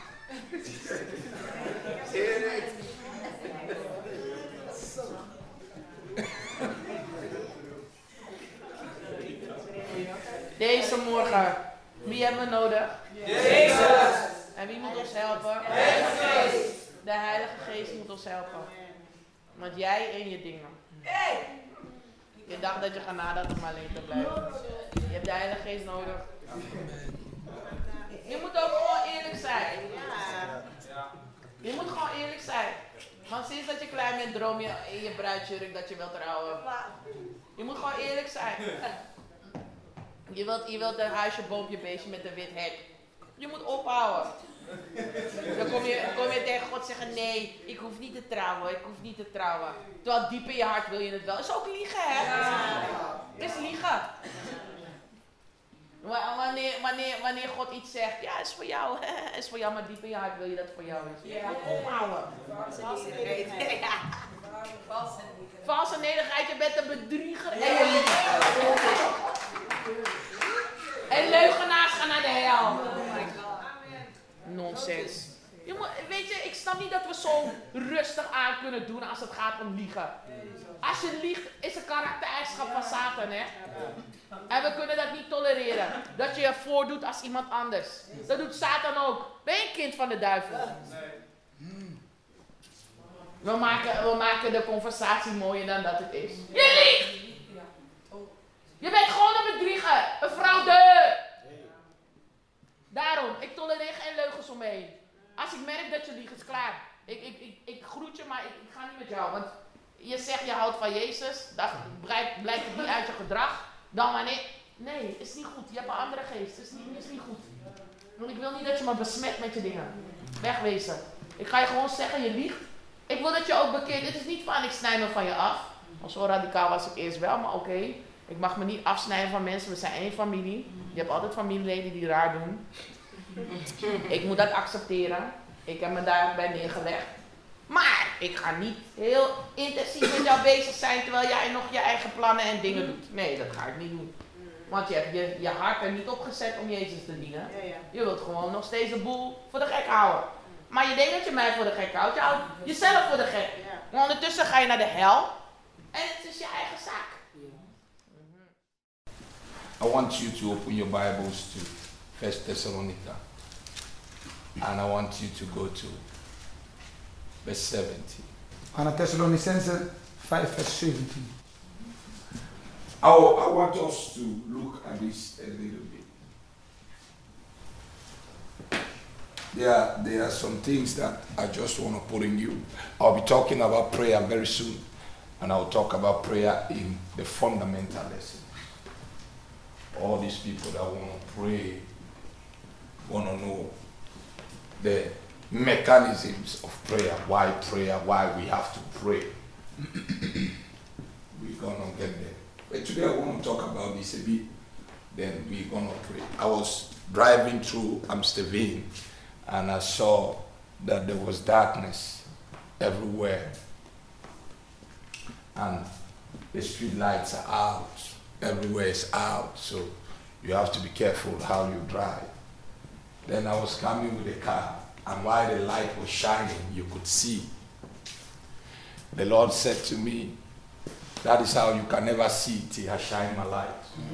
Deze morgen. Wie hebben we nodig? Jezus. En wie moet ons helpen? De Heilige Geest moet ons helpen. Want jij en je dingen. Je dacht dat je genade had om alleen te blijven. Je hebt de Heilige Geest nodig. Je moet ook gewoon eerlijk zijn. Je moet gewoon eerlijk zijn. Want sinds dat je klein bent, droom je in je bruidsjurk dat je wilt trouwen. Je moet gewoon eerlijk zijn. Je wilt een huisje, boompje, beestje met een wit hek. Je moet ophouden. Dan kom je tegen God zeggen, nee, ik hoef niet te trouwen, ik hoef niet te trouwen. Terwijl diep in je hart wil je het wel. Is ook liegen, hè? Het is liegen. Wanneer God iets zegt, ja, is voor jou, is voor jou, maar diep in je hart wil je dat het voor jou is. Je moet ophouden. Valse nederigheid, je bent een bedrieger en je liegt. En leugenaars gaan naar de hel. Nonsens. Weet je, ik snap niet dat we zo rustig aan kunnen doen als het gaat om liegen. Als je liegt, is een karaktereigenschap van Satan, hè? En we kunnen dat niet tolereren. Dat je je voordoet als iemand anders. Dat doet Satan ook. Ben je een kind van de duivel? We maken de conversatie mooier dan dat het is. Je liegt! Je bent gewoon een bedrieger. Een fraude. Daarom, ik tolereer geen leugens omheen. Als ik merk dat je liegt, is klaar. Ik groet je, maar ik ga niet met jou. Want je zegt je houdt van Jezus. Dan blijkt het niet uit je gedrag. Dan wanneer... Nee, is niet goed. Je hebt een andere geest. Is niet goed. Want ik wil niet dat je me besmet met je dingen. Wegwezen. Ik ga je gewoon zeggen, je liegt. Ik wil dat je ook bekeert. Het is niet van, ik snij me van je af. Want zo radicaal was ik eerst wel, maar oké. Ik mag me niet afsnijden van mensen. We zijn één familie. Je hebt altijd familieleden die raar doen. Ik moet dat accepteren. Ik heb me daarbij neergelegd. Maar ik ga niet heel intensief met jou bezig zijn terwijl jij nog je eigen plannen en dingen doet. Nee, dat ga ik niet doen. Want je hebt je hart er niet op gezet om Jezus te dienen. Je wilt gewoon nog steeds de boel voor de gek houden. Maar je denkt dat je mij voor de gek houdt. Je houdt jezelf voor de gek. Maar ondertussen ga je naar de hel. En het is je eigen zaak. I want you to open your Bibles to 1 Thessalonica. And I want you to go to verse 17. Aan Thessalonicense 5 vers 17. I want us to look at this a little bit. there are some things that I just want to put in you. I'll be talking about prayer very soon, and I'll talk about prayer in the fundamental lesson. All these people that want to pray, want to know the mechanisms of prayer, why we have to pray. We're going to get there. But today I want to talk about this a bit, then we're going to pray. I was driving through Amsterdam, and I saw that there was darkness everywhere, and the street lights are out, everywhere is out, so you have to be careful how you drive. Then I was coming with a car, and while the light was shining, you could see. The Lord said to me, that is how you can never see till I shine my light.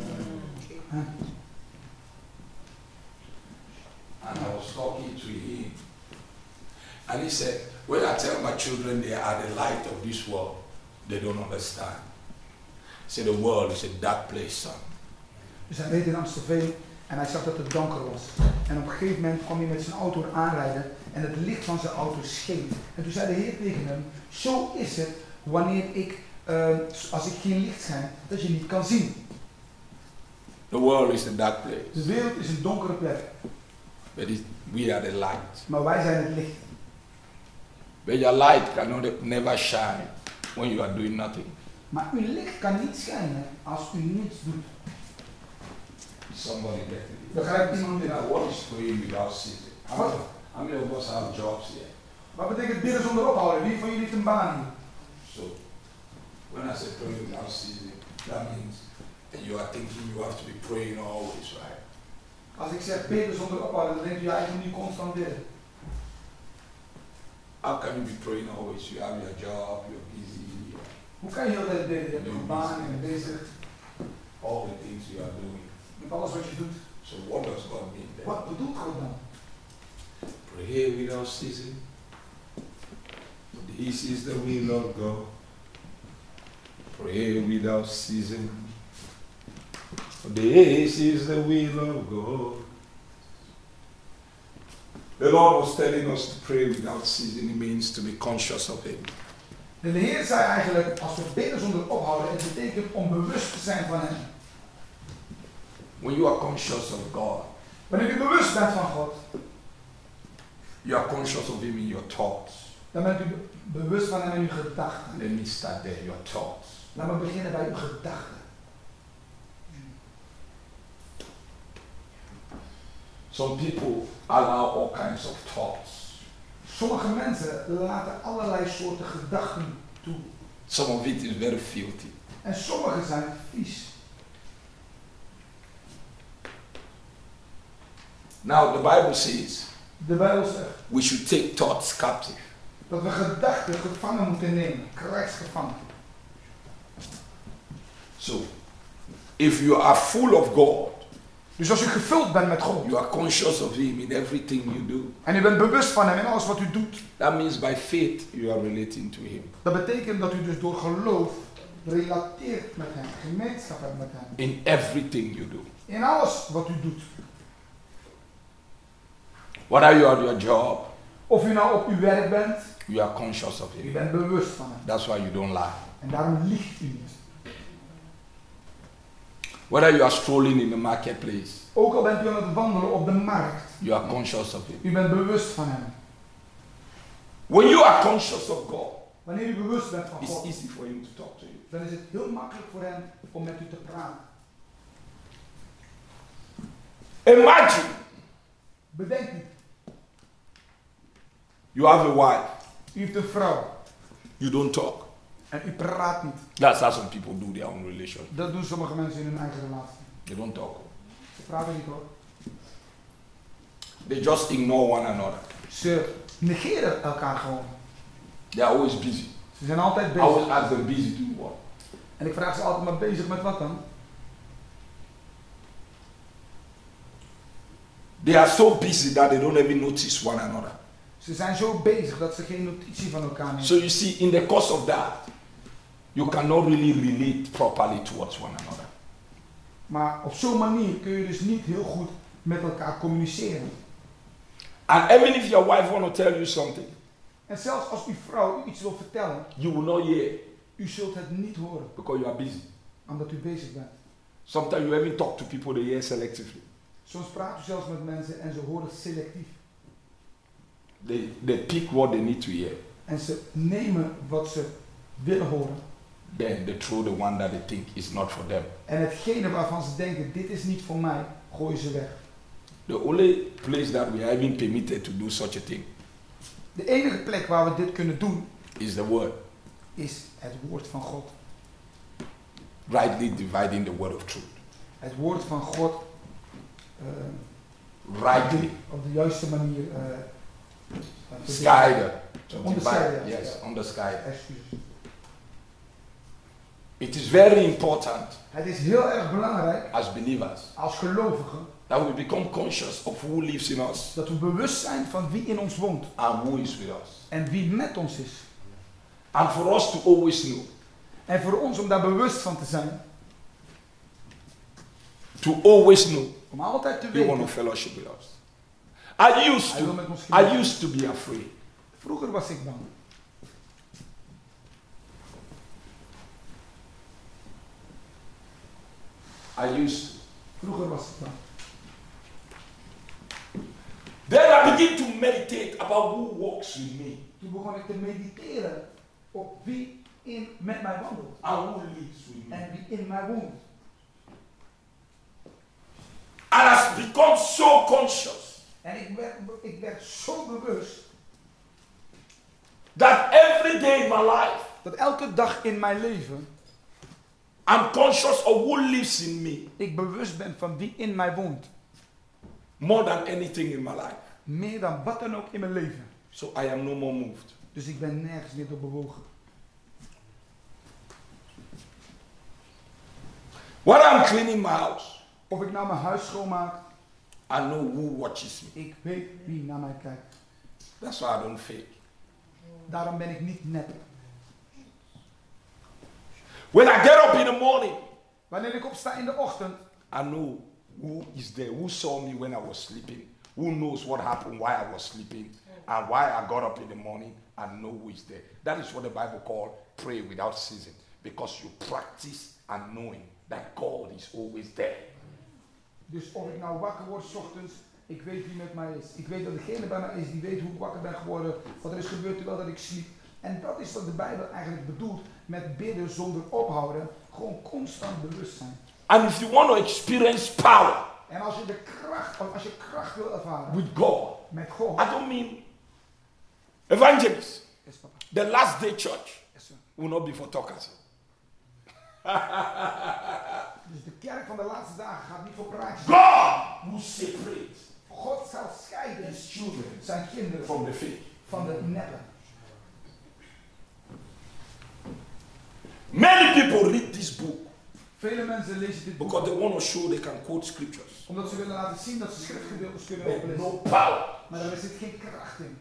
And I was talking to him, and he said, when I tell my children they are the light of this world, they don't understand. He said, the world is a dark place, son. Dus hij reed in Amsterdam en hij zag dat het donker was. En op een gegeven moment kwam hij met zijn auto aanrijden en het licht van zijn auto scheen. En toen zei de Heer tegen hem, zo is het wanneer als ik geen licht schijn, dat je niet kan zien. The world is a dark place. De wereld is een donkere plek. But we are the light. Maar wij zijn het licht. But your light cannot never shine when you are doing nothing. Maar uw licht kan niet schijnen als u niets doet. Somebody get it. Begrijpt iemand dit? Now, what is praying without ceasing? How many of us have jobs here? Wat betekent bidden zonder ophouden? Wie van jullie heeft een baan hier? So, when I say praying without ceasing, that means you are thinking you have to be praying always, right? Als ik zeg bidden zonder ophouden, dan denkt u eigenlijk niet constant bidden. How can you be praying always? You have your job, you're busy. Hoe kan je heel de tijd bidden? Je hebt een baan en je bent bezig All the things you are doing. met alles wat je doet. So what does God mean then? Wat bedoelt God dan? Pray without ceasing. This is the will of God. Pray without ceasing. This is the will of God. The Lord was telling us to pray without ceasing. It means to be conscious of Him. En de Heer zei eigenlijk, als we bidden zonder ophouden, het betekent om bewust te zijn van Hem. When you are conscious of God, Wanneer u bewust bent van God, you are conscious of Him in your thoughts. dan bent u bewust van Hem in uw gedachten. Let me start there, your thoughts. Laat me beginnen bij uw gedachten. Some people allow all kinds of thoughts. Sommige mensen laten allerlei soorten gedachten toe. Some of it is very filthy. En sommige zijn vies. Now the Bible says De Bijbel zegt we should take thoughts captive. dat we gedachten gevangen moeten nemen. Krijgsgevangen. So, if you are full of God, Dus als u gevuld bent met God. you are conscious of Him in everything you do. En u bent bewust van Hem in alles wat u doet. That means by faith you are relating to Him. Dat betekent dat u dus door geloof relateert met Hem. Gemeenschap hebt met Hem. In everything you do. In alles wat u doet. Whether you are at your job, Of u nou op uw werk bent. you are conscious of U Him. bent bewust van Hem. That's why you don't lie. En daarom liegt u niet. Whether you are strolling in the marketplace, Ook al bent u aan het wandelen op de markt. you are conscious of Him. U bent bewust van Hem. When you are conscious of God, Wanneer u bewust bent van it's God. easy for Him to talk to you. Dan is het heel makkelijk voor Hem om met u te praten. Imagine Bedenk u. you have a wife, U heeft een vrouw. you don't talk. En u praat niet. That's how some people do their own relation. Dat doen sommige mensen in hun eigen relatie. They don't talk. Ze praten niet hoor. They just ignore one another. Ze negeren elkaar gewoon. They are always busy. Ze zijn altijd I bezig. always ask them busy doing what? En ik vraag ze altijd maar bezig met wat dan? They are so busy that they don't even notice one another. Ze zijn zo bezig dat ze geen notitie van elkaar nemen. So you see, in the course of that, you cannot really relate properly towards one another. Maar op zo'n manier kun je dus niet heel goed met elkaar communiceren. And even if your wife want to tell you something, En zelfs als uw vrouw u iets wil vertellen, you will not hear u zult het niet horen, because you are busy. omdat u bezig bent. Sometimes you even talk to people, they hear selectively. Soms praat u zelfs met mensen en ze horen selectief. They pick what they need to hear. En ze nemen wat ze willen horen. Then they throw the one that they think is not for them. En hetgene waarvan ze denken, dit is niet voor mij, gooien ze weg. The only place that we are even permitted to do such a thing De enige plek waar we dit kunnen doen, is the word. is het woord van God. Rightly dividing the word of truth. Het woord van God Rightly. op de juiste manier Scheiden. To Onderscheiden, divide. Yes, onderscheiden. Excuses. It is very important Het is heel erg belangrijk as believers als gelovigen that we become conscious of who lives in us dat we bewust zijn van wie in ons woont and who is with us. en wie met ons is. And for us to always know, En voor ons om daar bewust van te zijn, to always know, om altijd te you want to weten, fellowship with us. hij wil met ons I genieten. used to be afraid. Vroeger was ik bang. Vroeger was ik bang. Then I begin to meditate about who walks with me Toen begon ik te mediteren op wie met mij wandelt and who lives with me. en wie in mij woont. And has become so conscious En ik werd zo bewust that every day in my life dat elke dag in mijn leven I'm conscious of who lives in me ik bewust ben van wie in mij woont. more than anything in my life. Meer dan wat dan ook in mijn leven. So I am no more moved. Dus ik ben nergens meer door bewogen. When I'm cleaning my house, Of ik nou mijn huis schoonmaak, I know who watches me. ik weet wie naar mij kijkt. That's why I don't fake. Daarom ben ik niet nep. When I get up in the morning, Wanneer ik opsta in de ochtend, I know who is there, who saw me when I was sleeping, who knows what happened while I was sleeping, and why I got up in the morning, I know who is there. That is what the Bible calls pray without ceasing, because you practice and knowing that God is always there. dus of ik nou wakker word 's ochtends, ik weet wie met mij is. Ik weet dat degene bij mij is die weet hoe ik wakker ben geworden, wat er is gebeurd terwijl dat ik sliep. En dat is wat de Bijbel eigenlijk bedoelt met bidden zonder ophouden. Gewoon constant bewust zijn. And if you want to experience power En als je kracht wil ervaren with God, met God. I don't mean evangelists. Yes, papa. The last day church Yes, sir. will not be for talkers. Dus de kerk van de laatste dagen gaat niet voor praatjes. God will separate God zal scheiden his children zijn kinderen from the faith. van de neppen. Many people read this book Vele mensen lezen dit boek because they want to show they can quote scriptures. omdat ze willen laten zien dat ze schriftgedeeltes kunnen But oplezen. no power. Maar daar zit geen kracht in.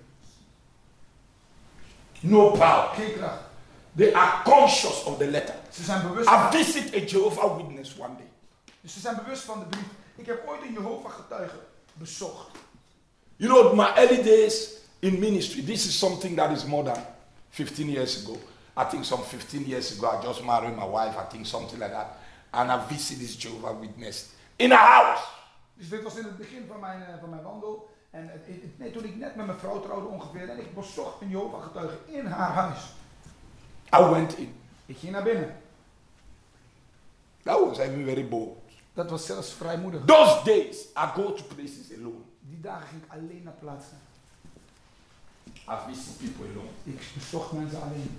No power. Geen kracht. They are conscious of the letter. Ze zijn bewust I visit a Jehovah Witness one day. Dus ze zijn bewust van de brief. Ik heb ooit een Jehovah-getuige bezocht. You know, my early days in ministry, this is something that is more than 15 years ago. I think some 15 years ago, I just married my wife, I think something like that. And I visit this Jehovah Witness in a house. Dus dit was in het begin van mijn wandel. En toen ik net met mijn vrouw trouwde ongeveer. En ik bezocht een Jehovah-getuige in haar huis. I went in. Ik ging naar binnen. That was even very bold. Dat was zelfs vrijmoedig. Those days, I go to places alone. Die dagen ging ik alleen naar plaatsen. I visit people alone. Ik bezocht mensen alleen.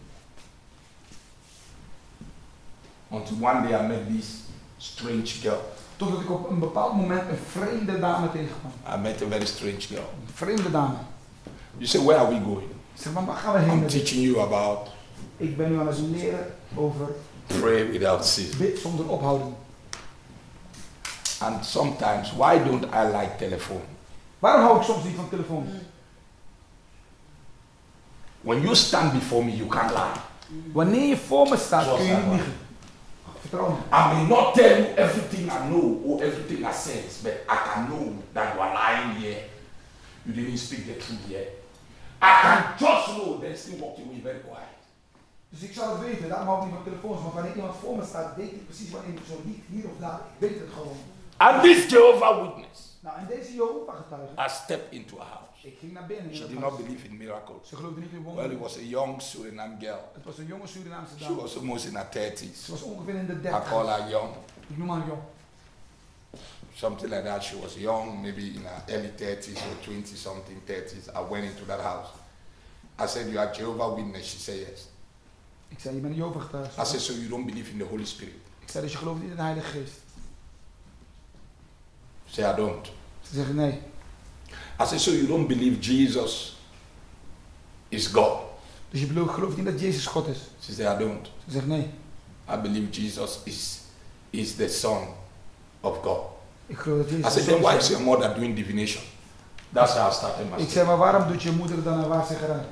Until one day I met this strange girl. Totdat ik op een bepaald moment een vreemde dame tegenkwam. I met a very strange girl. Een vreemde dame. You say, where are we going? Ik zeg, maar waar gaan we heen? I'm met dit? teaching you about Ik ben nu aan het leren over pray without ceasing. bid zonder ophouden. And sometimes, why don't I like telephone? Waarom hou ik soms niet van telefoon? When you stand before me, you can't lie. Wanneer je voor me staat, Zoals kun je hij niet was. liegen. Vertrouw me. I may not tell you everything I know or everything I sense, but I can know that you are lying here. You didn't speak the truth yet. I can just know, then still walk away very quiet. Dus ik zal het weten, daarom hou ik niet van telefoons, want wanneer iemand voor me staat, weet ik precies wanneer ik zo liegt, hier of daar. Ik weet het gewoon. And this Jehovah Witness Nou, en deze Jehovah-getuige, I stepped into a house. ik ging naar binnen. in She dat did huis. not believe in miracles. Ze geloofde niet in Well, wonderen. it was a young Suriname girl. Het was een jonge Surinaamse She dame. was almost in her 30s. Ze was ongeveer in de I 30. call her young. Ik noem haar jong. Something like that. She was young, maybe in her early 30s or 20 something 30s. I went into that house. I said, you are Jehovah Witness? She said, yes. Ik zei, je bent een Jehovah-getuige. I said, so you don't believe in the Holy Spirit? Ik zei, dus je gelooft niet in de Heilige Geest. She said, I don't. Ze zeggen nee. I said, so you don't believe Jesus is God? Dus je gelooft niet dat Jezus God is. She said, I don't. Ze zegt nee. I believe Jesus is the Son of God. Ik geloof dat I Jezus said, de then Zoon why is. is your mother doing divination? That's how I started my Ik story. zei, maar waarom doet je moeder dan een waarzeggerij?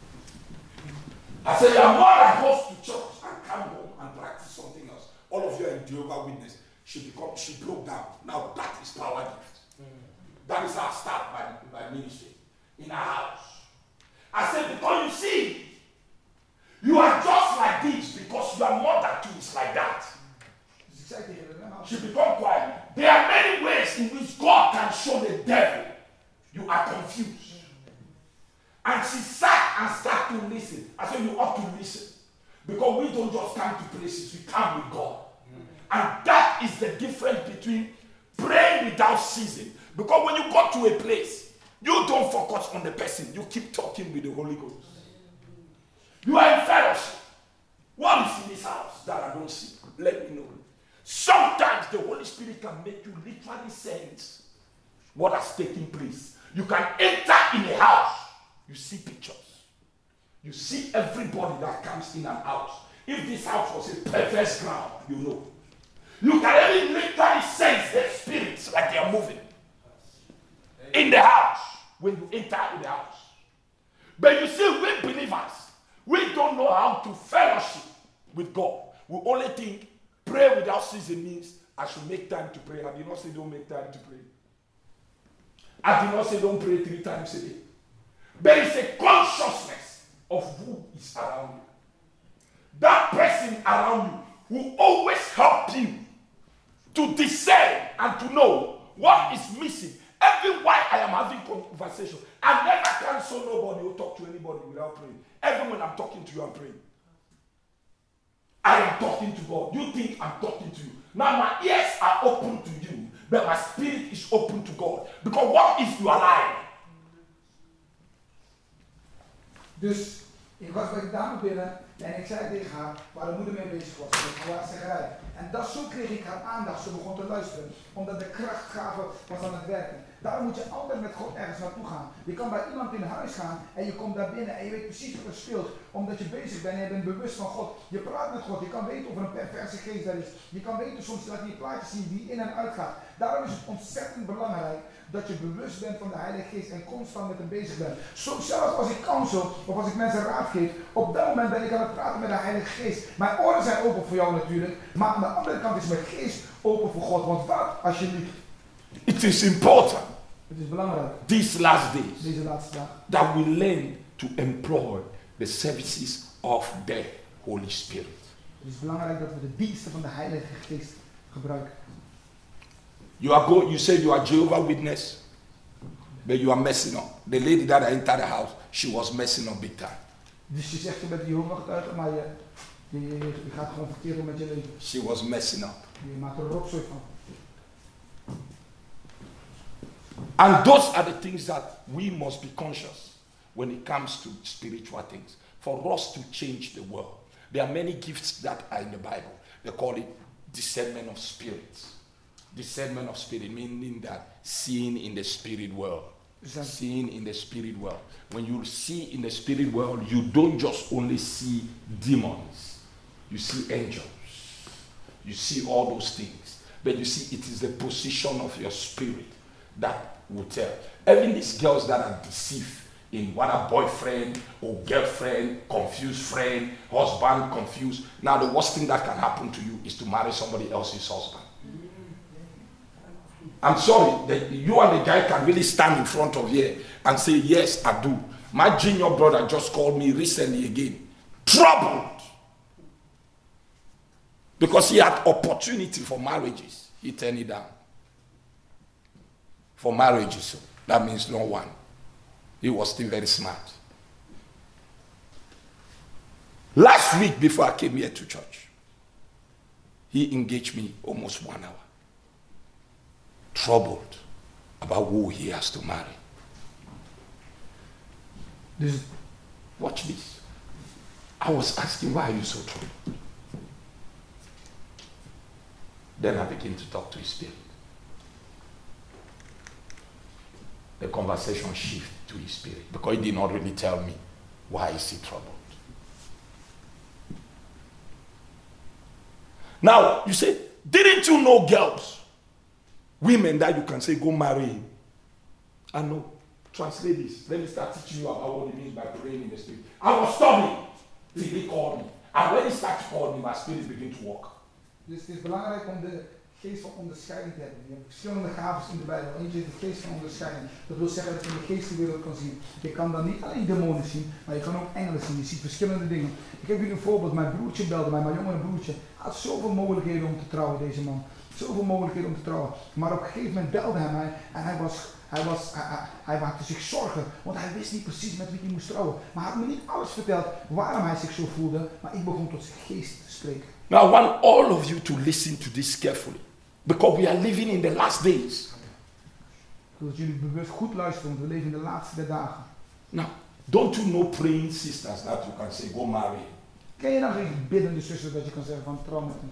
I said, your mother goes to church and come home and practice something else. All of you are in Jehovah Witness. She broke down. Now that is power gift. That is how I start my ministry. In our house. I said, because you see, you are just like this because your mother too is like that. Dus ik zei tegen haar, nou, She become quiet. There are many ways in which God can show the devil you are confused. And she sat and started to listen. I said, you ought to listen. Because we don't just come to places, we come with God. And that is the difference between praying without ceasing. Because when you go to a place, you don't focus on the person. You keep talking with the Holy Ghost. You are in fellowship. What is in this house that I don't see? Let me know. Sometimes the Holy Spirit can make you literally sense what has taken place. You can enter in a house. You see pictures. You see everybody that comes in and out. If this house was a perverse ground, you know. You can even literally sense the spirits like they are moving in the house when you enter in the house. But you see, we believers, we don't know how to fellowship with God. We only think pray without ceasing means I should make time to pray. I did not say don't make time to pray. I did not say don't pray 3 times a day. There is a consciousness of who is around you. That person around you will always help you to discern and to know what is missing. Even while I am having conversation, I never cancel nobody or talk to anybody without praying. Even when I'm talking to you, I'm praying. I am talking to God. You think I'm talking to you. Now my ears are open to you, but my spirit is open to God. Because what if you are lying? Dus ik was bij de dame binnen en ik zei tegen haar waar de moeder mee bezig was, met de waarzeggerij. En dat zo kreeg ik haar aandacht, ze begon te luisteren, omdat de krachtgave was aan het werken. Daarom moet je altijd met God ergens naartoe gaan. Je kan bij iemand in huis gaan en je komt daar binnen en je weet precies wat er speelt, omdat je bezig bent en je bent bewust van God. Je praat met God, je kan weten of er een perverse geest daar is. Je kan weten soms dat je plaatjes zien die in en uit gaat. Daarom is het ontzettend belangrijk dat je bewust bent van de Heilige Geest en constant met hem bezig bent. Soms zelfs als ik counsel of als ik mensen raad geef, op dat moment ben ik aan het praten met de Heilige Geest. Mijn oren zijn open voor jou natuurlijk, maar aan de andere kant is mijn geest open voor God. Want wat als je liegt? It is important Het is belangrijk, these last days deze laatste dag, that we learn to employ the services of the Holy Spirit. het is belangrijk dat we de diensten van de Heilige Geest gebruiken. You said you are Jehovah Witness, but you are messing up. The lady that entered the house, she was messing up big time. Dus je zegt je bent Jehovah getuige, maar je gaat gewoon verkeerd om met je leven. She was messing up. Je maakt er een rotzooi van. And those are the things that we must be conscious when it comes to spiritual things. For us to change the world. There are many gifts that are in the Bible. They call it discernment of spirits. Discernment of spirit, meaning that seeing in the spirit world. Seeing in the spirit world. When you see in the spirit world, you don't just only see demons. You see angels. You see all those things. But you see, it is the position of your spirit that will tell. Even these girls that are deceived in what a boyfriend or girlfriend, confused friend, husband confused. Now the worst thing that can happen to you is to marry somebody else's husband. I'm sorry that you and the guy can really stand in front of here and say, yes, I do. My junior brother just called me recently again. Troubled. Because he had opportunity for marriages. He turned it down. For marriages, so that means no one. He was still very smart. Last week before I came here to church, he engaged me almost 1 hour. Troubled about who he has to marry. Watch this. I was asking, why are you so troubled? Then I began to talk to his spirit. The conversation shifted to his spirit because he did not really tell me why is he troubled. Now, you say, didn't you know girls, women that you can say, go marry him? I know. Translate this. Let me start teaching you about what it means by praying in the spirit. I was studying till he called me. And when he started calling me, my spirit began to walk. Dus het is belangrijk om de geest van onderscheiding te hebben. Je hebt verschillende gaven in de Bijbel. Eentje is de geest van onderscheiding. Dat wil zeggen dat je in de geestenwereld kan zien. Je kan dan niet alleen demonen zien, maar je kan ook engelen zien. Je ziet verschillende dingen. Ik heb jullie een voorbeeld. Mijn broertje belde mij, mijn jongere broertje. Hij had zoveel mogelijkheden om te trouwen, deze man. Zoveel mogelijkheden om te trouwen. Maar op een gegeven moment belde hij mij en hij maakte zich zorgen, want hij wist niet precies met wie hij moest trouwen. Maar hij had me niet alles verteld waarom hij zich zo voelde, maar ik begon tot zijn geest te spreken. Now I want all of you to listen to this carefully, because we are living in the last days. Ik wil dat jullie bewust goed luisteren, want we leven in de laatste dagen. Now, don't you know praying sisters that you can say, go marry? Ken je dan geen biddende zussen dat je kan zeggen van trouw met hem?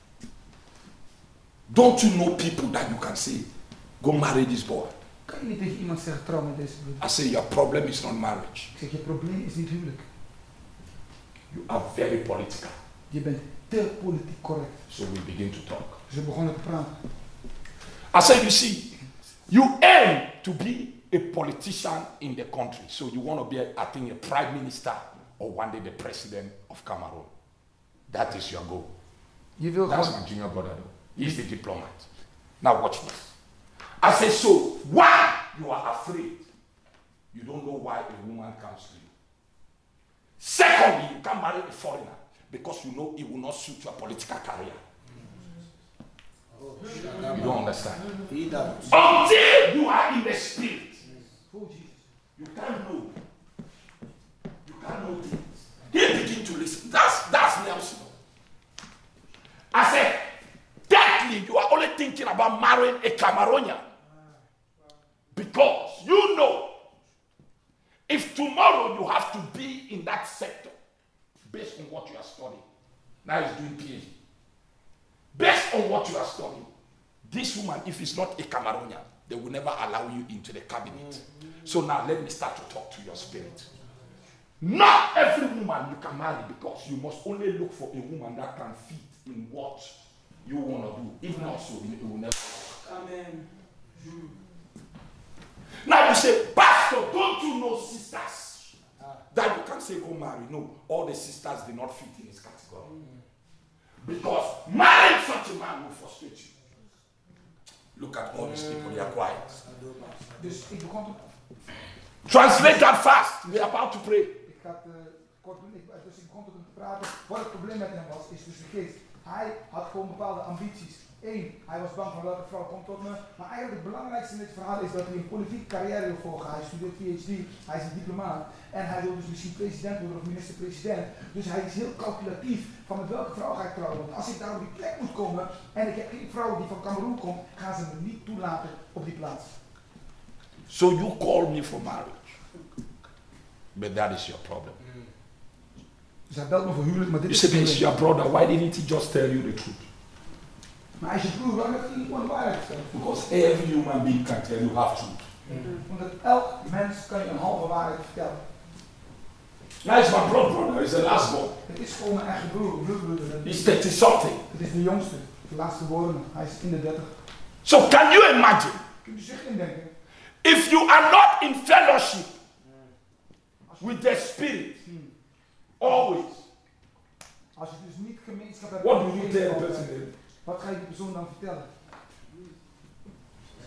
Don't you know people that you can say, go marry this boy? Kan je niet tegen iemand zeggen trouw met deze broer? I say your problem is not marriage. Ik zeg je probleem is niet huwelijk. You are very political. Je bent te politiek correct. So we begin to talk. Dus we begonnen te praten. I said, you see, you aim to be a politician in the country. So you want to be, I think, a prime minister or one day the president of Cameroon. That is your goal. Je wil That's gewoon... my junior brother though. He's the diplomat. Now watch this. I say, so why you are afraid? You don't know why a woman comes to you. Secondly, you can't marry a foreigner because you know it will not suit your political career. You don't understand. Until you are in the spirit, you can't know. You can't know things. He begin to listen. That's Nelson. I said, thirdly, you are only thinking about marrying a Cameroonian. Because you know, if tomorrow you have to be in that sector, based on what you are studying, now he's doing PhD. Based on what you are studying, this woman, if it's not a Cameroonian, they will never allow you into the cabinet. So now let me start to talk to your spirit. Not every woman you can marry because you must only look for a woman that can fit in what you want to do. If not so, it will never work. Amen. Now you say, Pastor, don't you know sisters that you can say go marry? No, all the sisters did not fit in his category. Because marrying such a man will frustrate you. Look at all these people, they are quiet. Dus ik begon te... Translate that fast. We are about to pray. Ik ga het kort doen. Dus ik begon tot hem te praten. Wat het probleem met hem was, is dus de geest. Hij had gewoon bepaalde ambities. Eén, hij was bang van welke vrouw komt tot me. Maar eigenlijk het belangrijkste in dit verhaal is dat hij een politieke carrière wil volgen. Hij studeert PhD, hij is een diplomaat. En hij wil dus misschien president worden of minister-president. Dus hij is heel calculatief van met welke vrouw ga ik trouwen. Want als ik daar op die plek moet komen en ik heb geen vrouw die van Cameroen komt, gaan ze me niet toelaten op die plaats. So you call me for marriage. But that is your problem. Dus hij belt me voor huwelijk, maar dit You is say, it's your brother. Why didn't he just tell you the truth? Maar als je broer, waarom heeft hij niet gewoon de waarheid verteld? Because every human being can tell you half truth. Omdat elk mens kan je een halve waarheid vertellen. Now it's my brother. He's the last born. Het is gewoon mijn eigen broer, bloedbroeder. He's 30 something. Het is de jongste, de laatste woorden. Hij is in de 30. So can you imagine? Kunt u zich indenken? If you are not in fellowship with the Spirit, always, Als je dus niet gemeenschap hebt what met do you de tell geest the person altijd, then? wat ga je die persoon dan vertellen?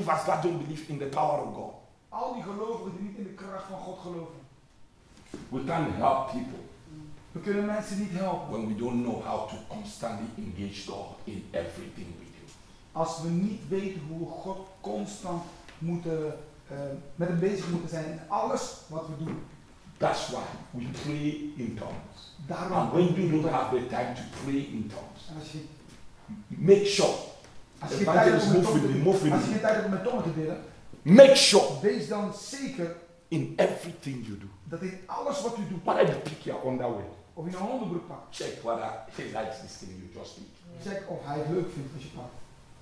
believers that don't believe in the power of God. Al die gelovigen die niet in de kracht van God geloven. We can't help people We kunnen mensen niet helpen when we don't know how to constantly engage God in everything we do. als we niet weten hoe we God constant moeten, met hem bezig moeten zijn in alles wat we doen. That's why we pray in tongues. Daarom. And when you don't have the time to pray in tongues, En als je, make sure. als je geen tijd hebt om met Move tongen with te- me. als je geen tijd hebt om met tongen te bidden, Make sure wees dan zeker in everything you do. dat in alles wat u doet, Whether you pick your underwear, of je een onderbroek pakt, check whether he likes this thing you just did. check of hij het leuk vindt als je pakt.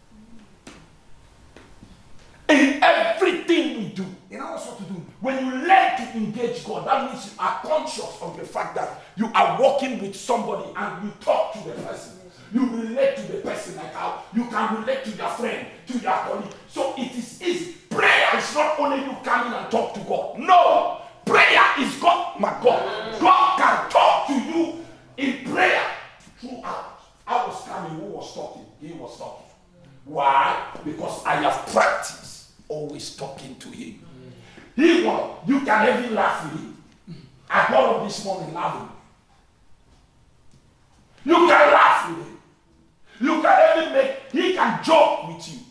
In everything we do, In alles wat we doen. when you learn to engage God, that means you are conscious of the fact that you are walking with somebody and you talk to the person. You relate to the person like how you can relate to your friend, to your colleague. So it is easy. Prayer is not only you come in and talk to God. No! Prayer is God, my God. God can talk to you in prayer throughout. I was coming, who was talking? He was talking. Why? Because I have practiced always talking to him. He won. You can even laugh with him. I got up this morning laughing. You can laugh with him. You can even he can joke with you.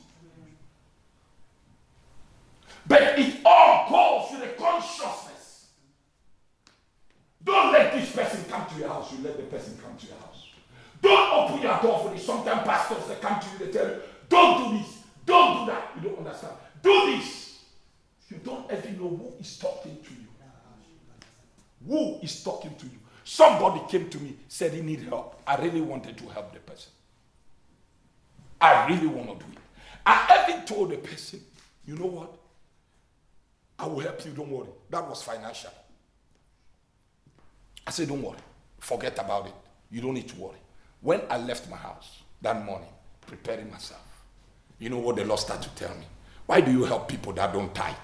But it all goes to the consciousness. Don't let this person come to your house. You let the person come to your house. Don't open your door for this. Sometimes pastors, they come to you, they tell you, don't do this, don't do that. You don't understand. Do this. You don't even know who is talking to you. Who is talking to you? Somebody came to me, said he needed help. I really wanted to help the person. I really want to do it. I even told the person, you know what? I will help you, don't worry. That was financial. I said, don't worry. Forget about it. You don't need to worry. When I left my house that morning, preparing myself, you know what the Lord started to tell me? Why do you help people that don't tithe?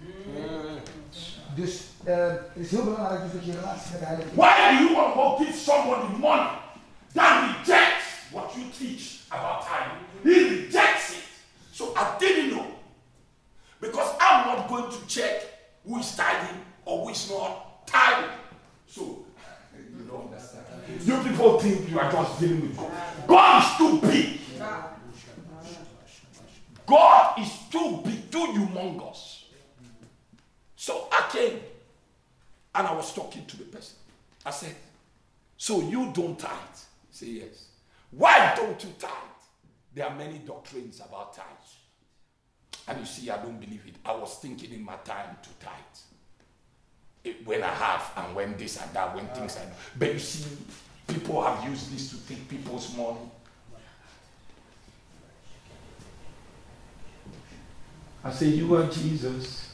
Dus het is heel belangrijk dus dat je relatie met de Heilige Geest. Why do you want to go give somebody money that rejects what you teach about tithing? He rejects it. So I didn't know. Because I'm not going to check who is tithing or who is not tithing. So, you don't understand. You people think you are just dealing with God. God is too big. God is too big, too humongous. So I came and I was talking to the person. I said, so you don't tithe? He said, yes. Why don't you tithe? There are many doctrines about tithe. And you see, I don't believe it. I was thinking in my time to tithe. When I have and when this and that, when things are. But you see, people have used this to take people's money. I say, you are Jesus.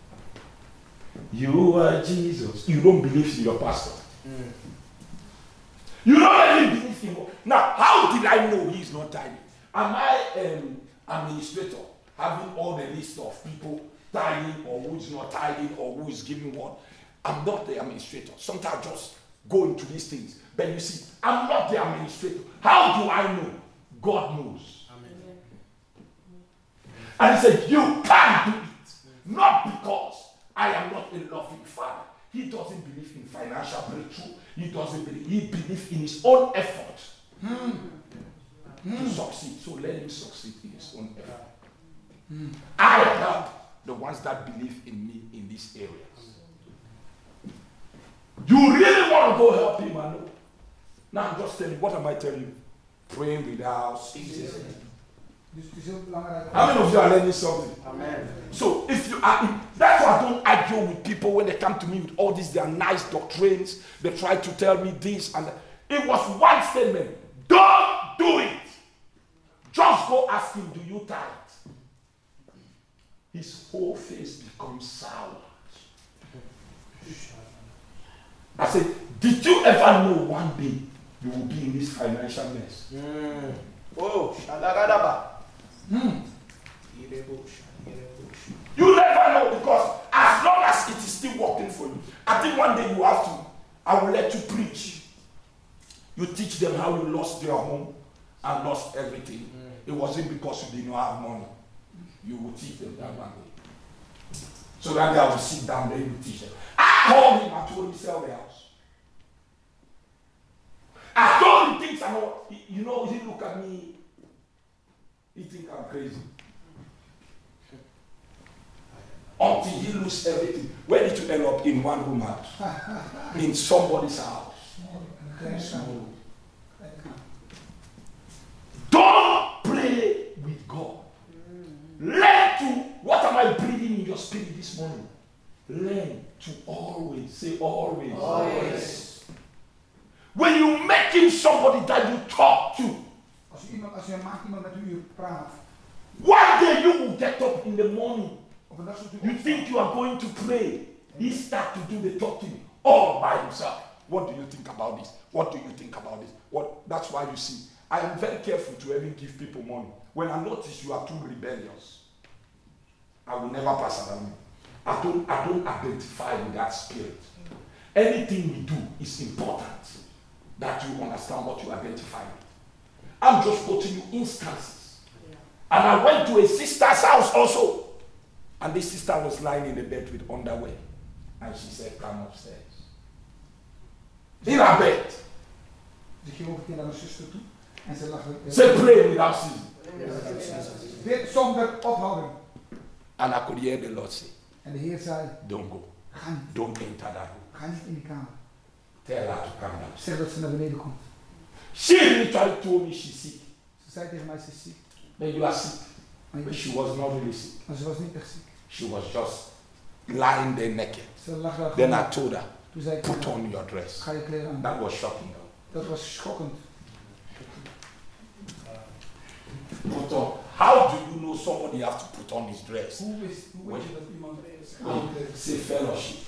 You are Jesus. You don't believe in your pastor. You don't even believe in God. Now, how did I know he is not tithing? Am I administrator having all the list of people tithing or who is not tithing or who is giving what? I'm not the administrator. Sometimes I just go into these things. But you see, I'm not the administrator. How do I know? God knows. Amen. And he said, you can't do it. Not because I am not a loving father. He doesn't believe in financial breakthrough. He doesn't believe. He believes in his own effort to succeed. So let him succeed in his own effort. I help the ones that believe in me in these areas. You really want to go help him, I know. Now I'm just telling you, what am I telling you? Praying without ceasing. How many of you are learning something? Amen. So if you are, that's why I don't argue with people when they come to me with all these their nice doctrines. They try to tell me this and that. It was one statement. Don't do it. Just go ask him, do you tithe? His whole face becomes sour. I said, did you ever know one day you will be in this financial mess? Oh, shadagadaba. You never know, because as long as it is still working for you, I think one day you have to, I will let you preach. You teach them how you lost their home and lost everything. It wasn't because you did not have money. You will teach them that one day. So that they will sit down, they will teach them. I called him, I told him, sell the house. I told him things I know. You know, he look at me, he think I'm crazy. Until he lose everything. Where did you end up? In one room house? In somebody's house. Small. Don't play with God. Learn to, what am I breathing in your spirit this morning? Learn to always, say always. Always. When you make him somebody that you talk to, Als je maakt iemand met wie je praat. one day you will get up in the morning. Op een dag zult u You think you are going to pray. He start to do the talking all by himself. What do you think about this? What do you think about this? What? That's why you see, I am very careful to even give people money. When I notice you are too rebellious, I will never pass around you. I don't identify with that spirit. Anything we do is important that you understand what you identify with. I'm just quoting you instances. And I went to a sister's house also. And this sister was lying in the bed with underwear. And she said, come upstairs. In her bed. Ze ging ook een keer naar mijn zuster toe. En ze lag. Say pray without ceasing. Dit zonder ophouding. And I could hear the Lord say, En de Heer zei, don't go. ga niet. Don't enter that room. Ga niet in die kamer. Tell her to come down. Zeg dat ze naar beneden komt. She literally told me she's sick. Ze zei tegen mij, ze is ziek. Then you are sick. Maar, But she was not really sick. maar ze was niet echt ziek. She was just lying there naked. Ze lag daar Then gewoon. I told her, Toen zei ik, put on your dress. ga je kleren aan. That was shocking. Dat was schokkend. Put on. How do you know somebody have to put on his dress? Hoe weet je dat iemand Say fellowship.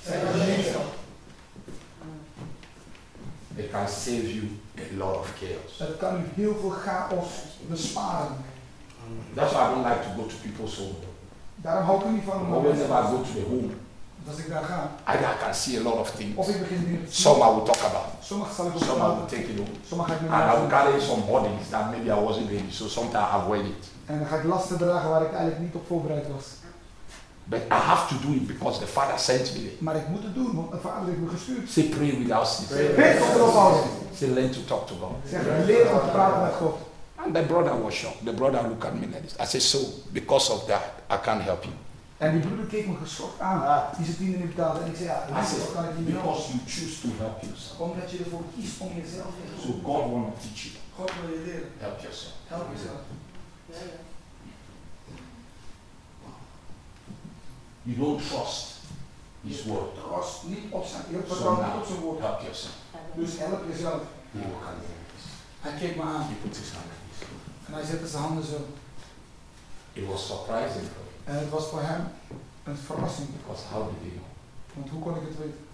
It can save you a lot of chaos. dat kan u heel veel chaos besparen. That's why I don't like to go to people's home. Daarom hou ik er niet van om Whenever I go to the home, als ik daar ga. I can see a lot of things. Of ik begin dingen te zien. Some I will talk about. Sommige zal ik ook Some I will praten. take it home. Sommige ga ik met And I will me carry some bodies that maybe I wasn't ready. So sometimes I avoid it. En dan ga ik lasten dragen waar ik eigenlijk niet op voorbereid was. But I have to do it because the Father sent me there. Maar ik moet het doen, want mijn vader heeft me gestuurd. Say pray without ceasing. Bid tot erop houden. Say learn to talk to God. Zeg, leer om te praten met God. And the brother was shocked. The brother looked at me like this. I said, so because of that, I can't help you. En die broeder keek me geschokt aan. Die zijn tienden niet betaalde. En ik zei, ja, I dat said, kan ik niet meer helpen. because you choose to help yourself. Omdat je ervoor kiest om jezelf te So helpen. God want to teach you. God wil je leren. Help yourself. Help jezelf. You don't trust His word. Trust niet op zijn, je So vertrouwt niet now, op zijn woord. help yourself. Dus help jezelf. He will come like this. Hij keek me aan. He put his hand like this. En hij zette zijn handen zo. It was surprising for him. En het was voor hem een verrassing. Because how did he know? Want hoe kon ik het weten?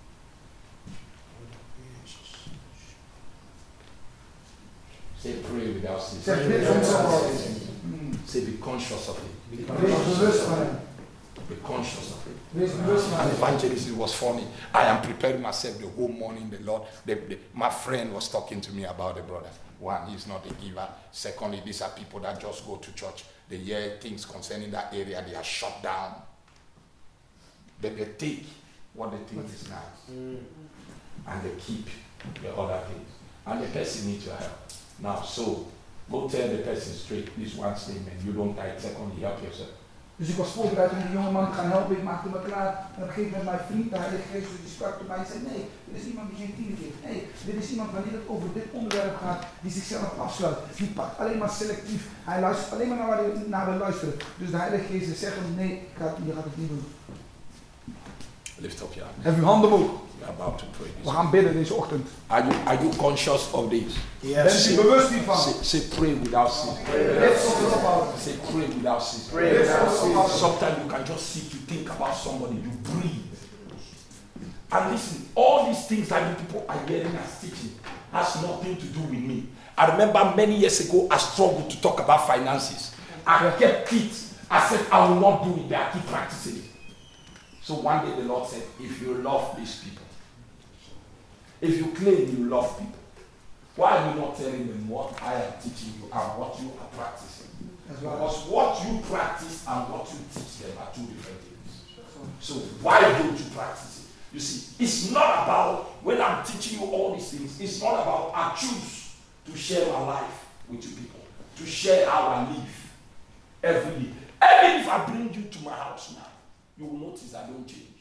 Say pray without ceasing. Zeg, bid zonder ophouden. Say be conscious of it. Wees bewust van hem. Be conscious of it. Wees bewust van And hem. evangelist, it was funny. I am preparing myself the whole morning. The Lord, my friend was talking to me about the brother. One, he's not a giver. Secondly, these are people that just go to church. They hear things concerning that area. They are shut down. But they take what they think is nice. And they keep the other things. And the person needs your help. Now, so, go tell the person straight this one statement. You don't die. Secondly, help yourself. Dus ik was voorbereid om die jonge man te gaan helpen. Ik maakte me klaar. En op een gegeven moment mijn vriend, de Heilige Geest, die sprak tot mij en zei: nee, dit is iemand die geen tienen geeft. Nee, dit is iemand wanneer het over dit onderwerp gaat, die zichzelf afsluit. Die pakt alleen maar selectief. Hij luistert alleen maar naar waar hij naar wil luisteren. Dus de Heilige Geest zegt hem: nee, je gaat het niet doen. Lift up your hand. Hef uw handen omhoog. We are about to pray this. We gaan bidden deze ochtend. Are you conscious of this? Bent u bewust hiervan? Say pray without ceasing. Bid zonder ophouden. Say pray without ceasing. Bid zonder ophouden. Sometimes you can just sit, you think about somebody, you breathe. And listen, all these things that the people are hearing as teaching has nothing to do with me. I remember many years ago I struggled to talk about finances. I kept it. I said I will not do it, but I keep practicing it. So one day the Lord said, if you love these people, if you claim you love people, why are you not telling them what I am teaching you and what you are practicing? Because what you practice and what you teach them are two different things. So why don't you practice it? You see, it's not about, when I'm teaching you all these things, it's not about I choose to share my life with you people, to share how I live every day. Even if I bring you to my house now, you will notice I don't change.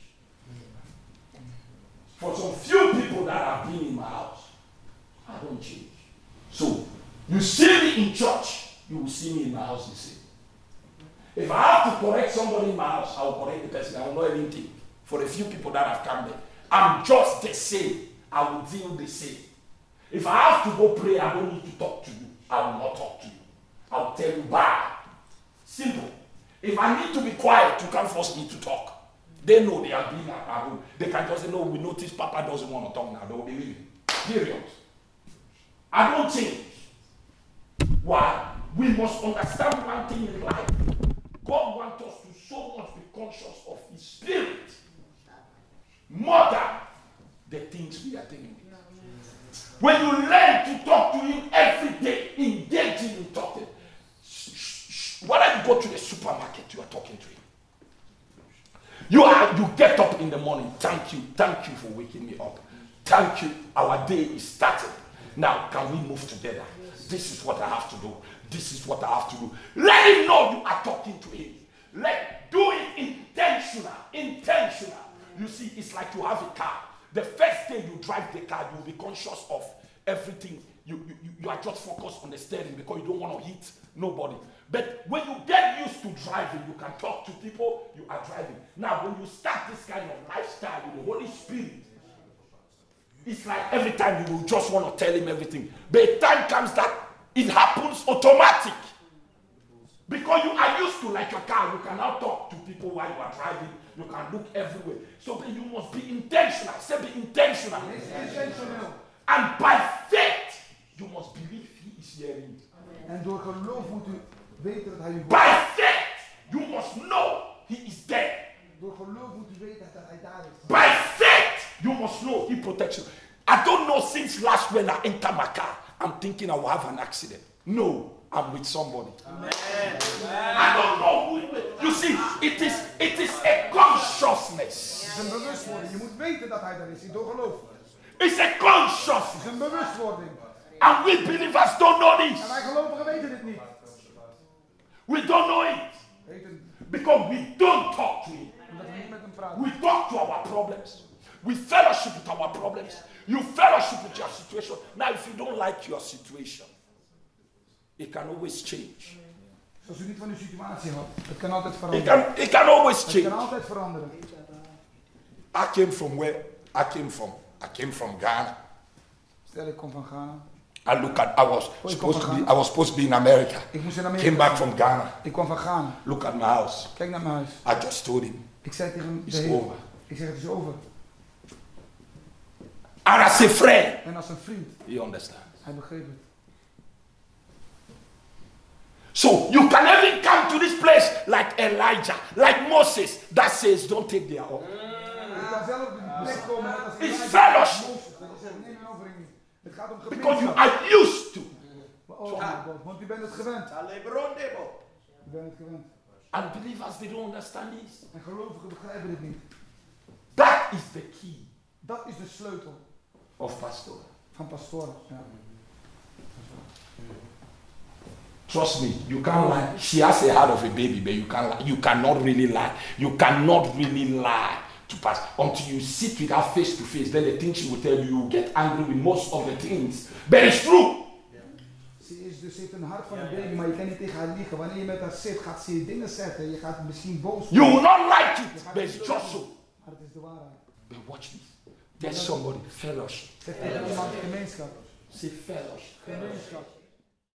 For some few people that have been in my house, I don't change. So, you see me in church, you will see me in my house the same. If I have to correct somebody in my house, I will correct the person. I will not even think. For a few people that have come there, I'm just the same. I will deal the same. If I have to go pray, I don't need to talk to you. I will not talk to you. I will tell you bye. Simple. If I need to be quiet, you can't force me to talk. They know they have been at home. They can just say, no, we notice Papa doesn't want to talk now. They will be leaving. Period. I don't change. Why? We must understand one thing in life. God wants us to so much be conscious of His Spirit more than the things we are dealing with. When you learn to talk to Him every day, engaging in talking, whether you go to the supermarket, you are talking to Him. You get up in the morning, thank you for waking me up. Thank you, our day is started. Now, can we move together? This is what I have to do. This is what I have to do. Let Him know you are talking to Him. Do it intentional. You see, it's like you have a car. The first day you drive the car, you'll be conscious of everything. You are just focused on the steering because you don't want to hit nobody. But when you get used to driving, you can talk to people, you are driving. Now, when you start this kind of lifestyle with the Holy Spirit, it's like every time you will just want to tell Him everything. But a time comes that it happens automatic. Because you are used to, like your car, you can now talk to people while you are driving. You can look everywhere. So you must be intentional. Say be intentional. Intentional. And by faith, you must believe He is hearing. En door geloof moet u weten dat Hij u hoort. By faith, you must know He is there. Door geloof moet u weten dat Hij daar is. By faith, you must know He protects you. I don't know since last when I enter my car, I'm thinking I will have an accident. No, I'm with somebody. Amen. I don't know who. You see, it is a consciousness. Het is een bewustwording. Je moet weten dat Hij daar is. Door geloof. It's a consciousness. Het is een bewustwording. And we believers don't know this. En wij gelovigen weten dit niet. We don't know it. Weten, Because we don't talk to Him. omdat we niet met Hem praten. We talk to our problems. We fellowship with our problems. You fellowship with your situation. Now, if you don't like your situation, it can always change. Als u niet van uw situatie houdt, het kan altijd veranderen. It can always Het change. kan altijd veranderen. I came from where? I came from Ghana. Stel, ik kom van Ghana. I was supposed to be in America. Ik moest in Amerika. Came back from Ghana. Ik kwam van Ghana. Look at my house. Kijk naar mijn huis. I just told him. Ik zei tegen It's de Heer. over. Ik zeg, het is over. And as a friend, En als een vriend, he understands. hij begreep het. So you can even come to this place like Elijah, like Moses, that says, don't take their oath. Je kan zelf op de plek komen net als It's Elijah. fellowship. Dat je zegt, neem een offering niet. Het gaat om Because you gemeenschap. are used to. Oh my God, want u bent het gewend. Alebrondebo. U bent het gewend. And believers, they don't understand this. En gelovigen begrijpen dit niet. That is the key Dat is de sleutel of pastoral. van pastoren. Ja. Trust me, you can't lie. She has a heart of a baby, but you can't lie. You cannot really lie. You cannot really lie to pass until you sit with her face to face. Then the things she will tell you, you get angry with most of the things. But it's true. Ze heeft een hart van een baby, maar je kan niet tegen haar liegen. Wanneer je met haar zit, gaat ze je dingen zeggen. Je gaat misschien boos worden. You will not like it, but it's just so. Maar het is de waarheid. But watch this. There's somebody, fellowship. Zeg tegen iemand gemeenschap. Say fellowship. Gemeenschap.